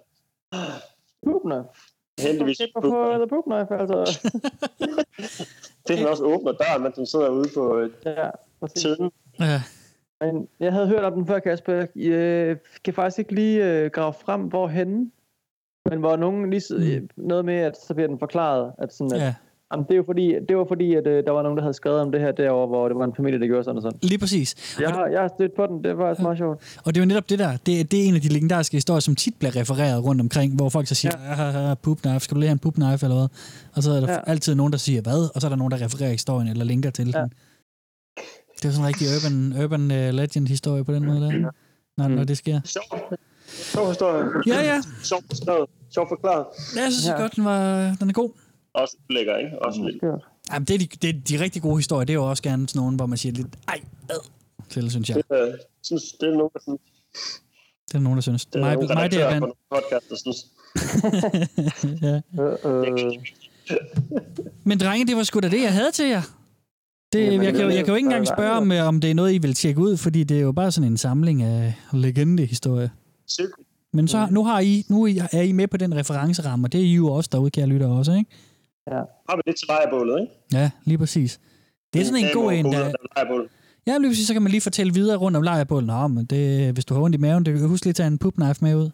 Heldigvis. På The Poop Knife, altså. Det er også åbner døren, mens den sidder ude på tiden. Ja. Men jeg havde hørt om den før, Kasper. Jeg kan faktisk ikke lige grave frem, hvorhenne. Men hvor nogen lige noget med, at så bliver den forklaret, at sådan, at jamen, det var fordi, at der var nogen, der havde skrevet om det her derovre, hvor det var en familie, der gjorde sådan og sådan. Lige præcis. Jeg har stødt på den, det var meget sjovt. Og det er jo netop det der, det er en af de legendariske historier, som tit bliver refereret rundt omkring, hvor folk så siger, poop knife, skal du lige have en poop knife eller hvad? Og så er der altid nogen, der siger hvad, og så er der nogen, der refererer historien eller linker til den. Det er sådan en rigtig urban legend historie på den måde der, når det sker. Sjov historie. Ja. Sjov forklaret. Jeg synes godt, den er god. Også lækker, ikke? Også lidt. Jamen, det er de rigtig gode historier. Det er jo også gerne sådan nogen, hvor man siger lidt, til, synes jeg. Det er nogen, der synes. Det er nogen, der synes. Det er nogen, der redaktører på nogle podcast, der synes. Ja. Men drenge, det var sgu da det, jeg havde til jer. Jeg kan jo ikke engang spørge, om det er noget, I vil tjekke ud, fordi det er jo bare sådan en samling af legendehistorier. Men så nu er I med på den referenceramme, og det er I jo også derude, kære lytter også, ikke? Ja. Har vi lidt til lejrebålet, ikke? Ja, lige præcis. Det er sådan en god en, der... Ja, lige præcis, så kan man lige fortælle videre rundt om lejrebålet. Nå, men hvis du har ondt i maven, det kan huske lige at tage en poop knife med ud.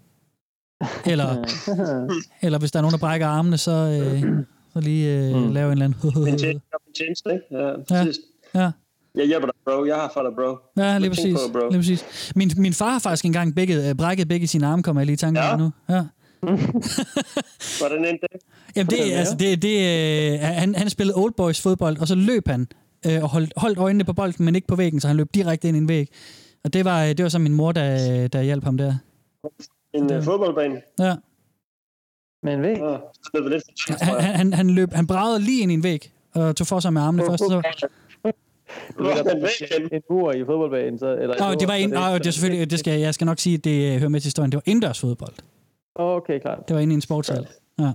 Eller hvis der er nogen, der brækker armene, så lige lave en eller anden... En tjeneste, ikke? Ja, præcis. Ja. Jeg hjælper dig, bro. Jeg har for dig, bro. Ja, lige præcis. Min far har faktisk engang brækket begge sine arme, kommer jeg lige i tanke om nu. Ja. Hvordan endte det? Jamen, han spillede Old Boys fodbold, og så løb han og holdt øjnene på bolden, men ikke på væggen, så han løb direkte ind i en væg. Og det var så min mor, der hjalp ham der. En fodboldbane? Ja. Med en væg? Han bragede lige ind i en væg, og tog for sig med armene først. Så... En mur i fodboldbanen, så... Eller det var det er selvfølgelig... Jeg skal nok sige, at det hører med til historien. Det var indendørs fodbold. Okay, klart. Det var inde i en sportshal. Ja.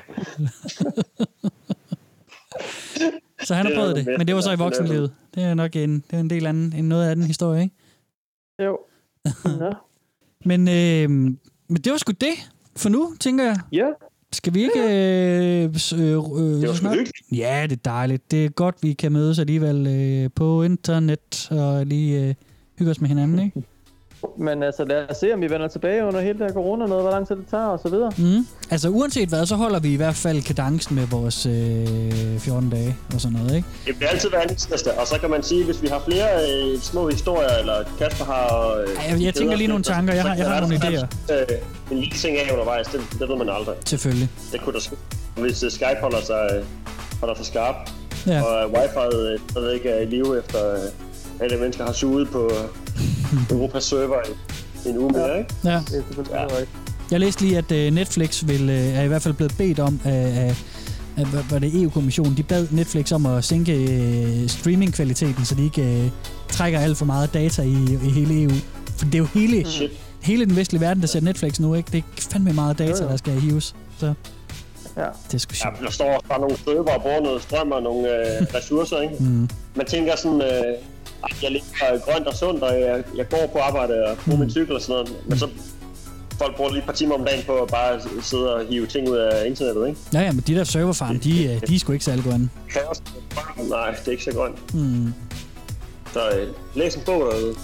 Så han har prøvet det, men det var så i voksenlivet. Det er nok en del anden end noget af den historie, ikke? Jo. Men det var sgu det for nu, tænker jeg. Ja. Skal vi ikke... det var sgu hyggeligt. Ja, det er dejligt. Det er godt, vi kan mødes alligevel på internet og lige hygge os med hinanden, ikke? Men altså, lad os se, om vi vender tilbage under hele det her corona, noget, hvor lang tid det tager, og så videre. Altså, uanset hvad, så holder vi i hvert fald kadencen med vores 14 dage og sådan noget, ikke? Det bliver altid hver anden tirsdag, og så kan man sige, hvis vi har flere små historier, eller Kasper har... jeg tænker lige nogle tanker, jeg har nogle idéer. En lille ting af undervejs, det ved man aldrig. Selvfølgelig. Det kunne der ske. Hvis Skype holder sig skarp, og wifi'et ikke er i live efter... alle mennesker har suget på Europas server i en uge mere, ikke? Ja. Det er selvfølgelig Jeg læste lige, at Netflix er i hvert fald blevet bedt om var det EU-kommissionen, de bad Netflix om at sænke streamingkvaliteten, så de ikke trækker alt for meget data i hele EU. For det er jo hele den vestlige verden, der ser Netflix nu, ikke? Det er fandme meget data, der skal hives. Så ja. Det er sgu sjovt. Ja, der står bare nogle server og bruger noget strøm og nogle ressourcer, ikke? Man tænker sådan, jeg lever grønt og sundt, og jeg går på arbejde og bruger min cykel og sådan noget, men så folk bruger lige et par timer om dagen på at bare sidde og hive ting ud af internettet, ikke? Ja, men de der serverfarm, de er sgu ikke særlig grønne. Nej, det er ikke så grønt. Så læs en bog derude.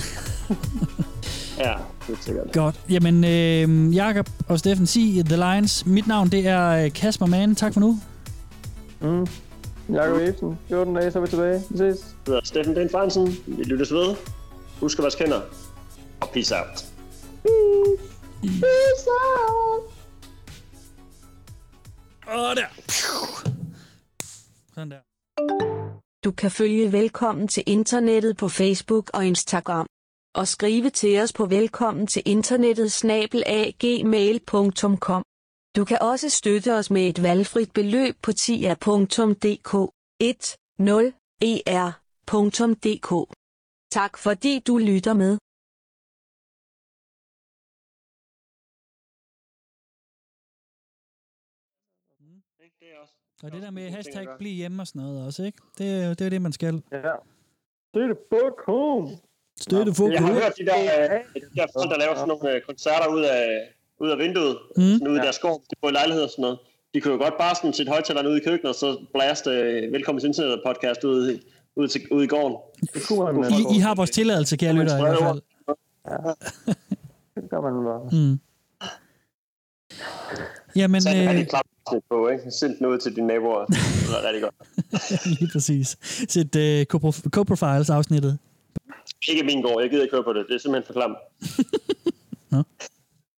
Ja, det er sikkert. Godt. Jamen, Jakob og Steffen, sig The Lions. Mit navn, det er Kasper Mann. Tak for nu. Jakob Ebsen. 14 dage, så er vi tilbage. Vi ses. Jeg hedder Steffen Den Fransen. Vi lyttes ved. Husk at vaske hænder. Og peace out. Peace out. Der. Sådan der. Du kan følge Velkommen til Internettet på Facebook og Instagram. Og skrive til os på velkommen til internettet@gmail.com. Du kan også støtte os med et valgfrit beløb på tia.dk 10er.dk. Tak fordi du lytter med. Og det der med hashtag bliv hjemme og sådan noget også, ikke? Det er det, man skal. Ja. Støtte Bokum. Støtte Bokum. Jeg har hørt de der folk, der laver sådan nogle koncerter ud af vinduet, sådan ude i deres skov, de bor i lejligheder og sådan noget. De kunne jo godt bare sådan sætte højtalerne ud i køkkenet, og så blaste Velkommen til Internet podcast ud i gården. Det kunne man I har vores tilladelse, kære lytter, i hvert fald. Ja. Det gør man bare. Jamen, så er det klart på, ikke? Send den ud til dine naboer. Det er rigtig godt. Lige præcis. Sæt Co-Profiles afsnittet. Ikke min gård. Jeg gider ikke høre på det. Det er simpelthen for klamt.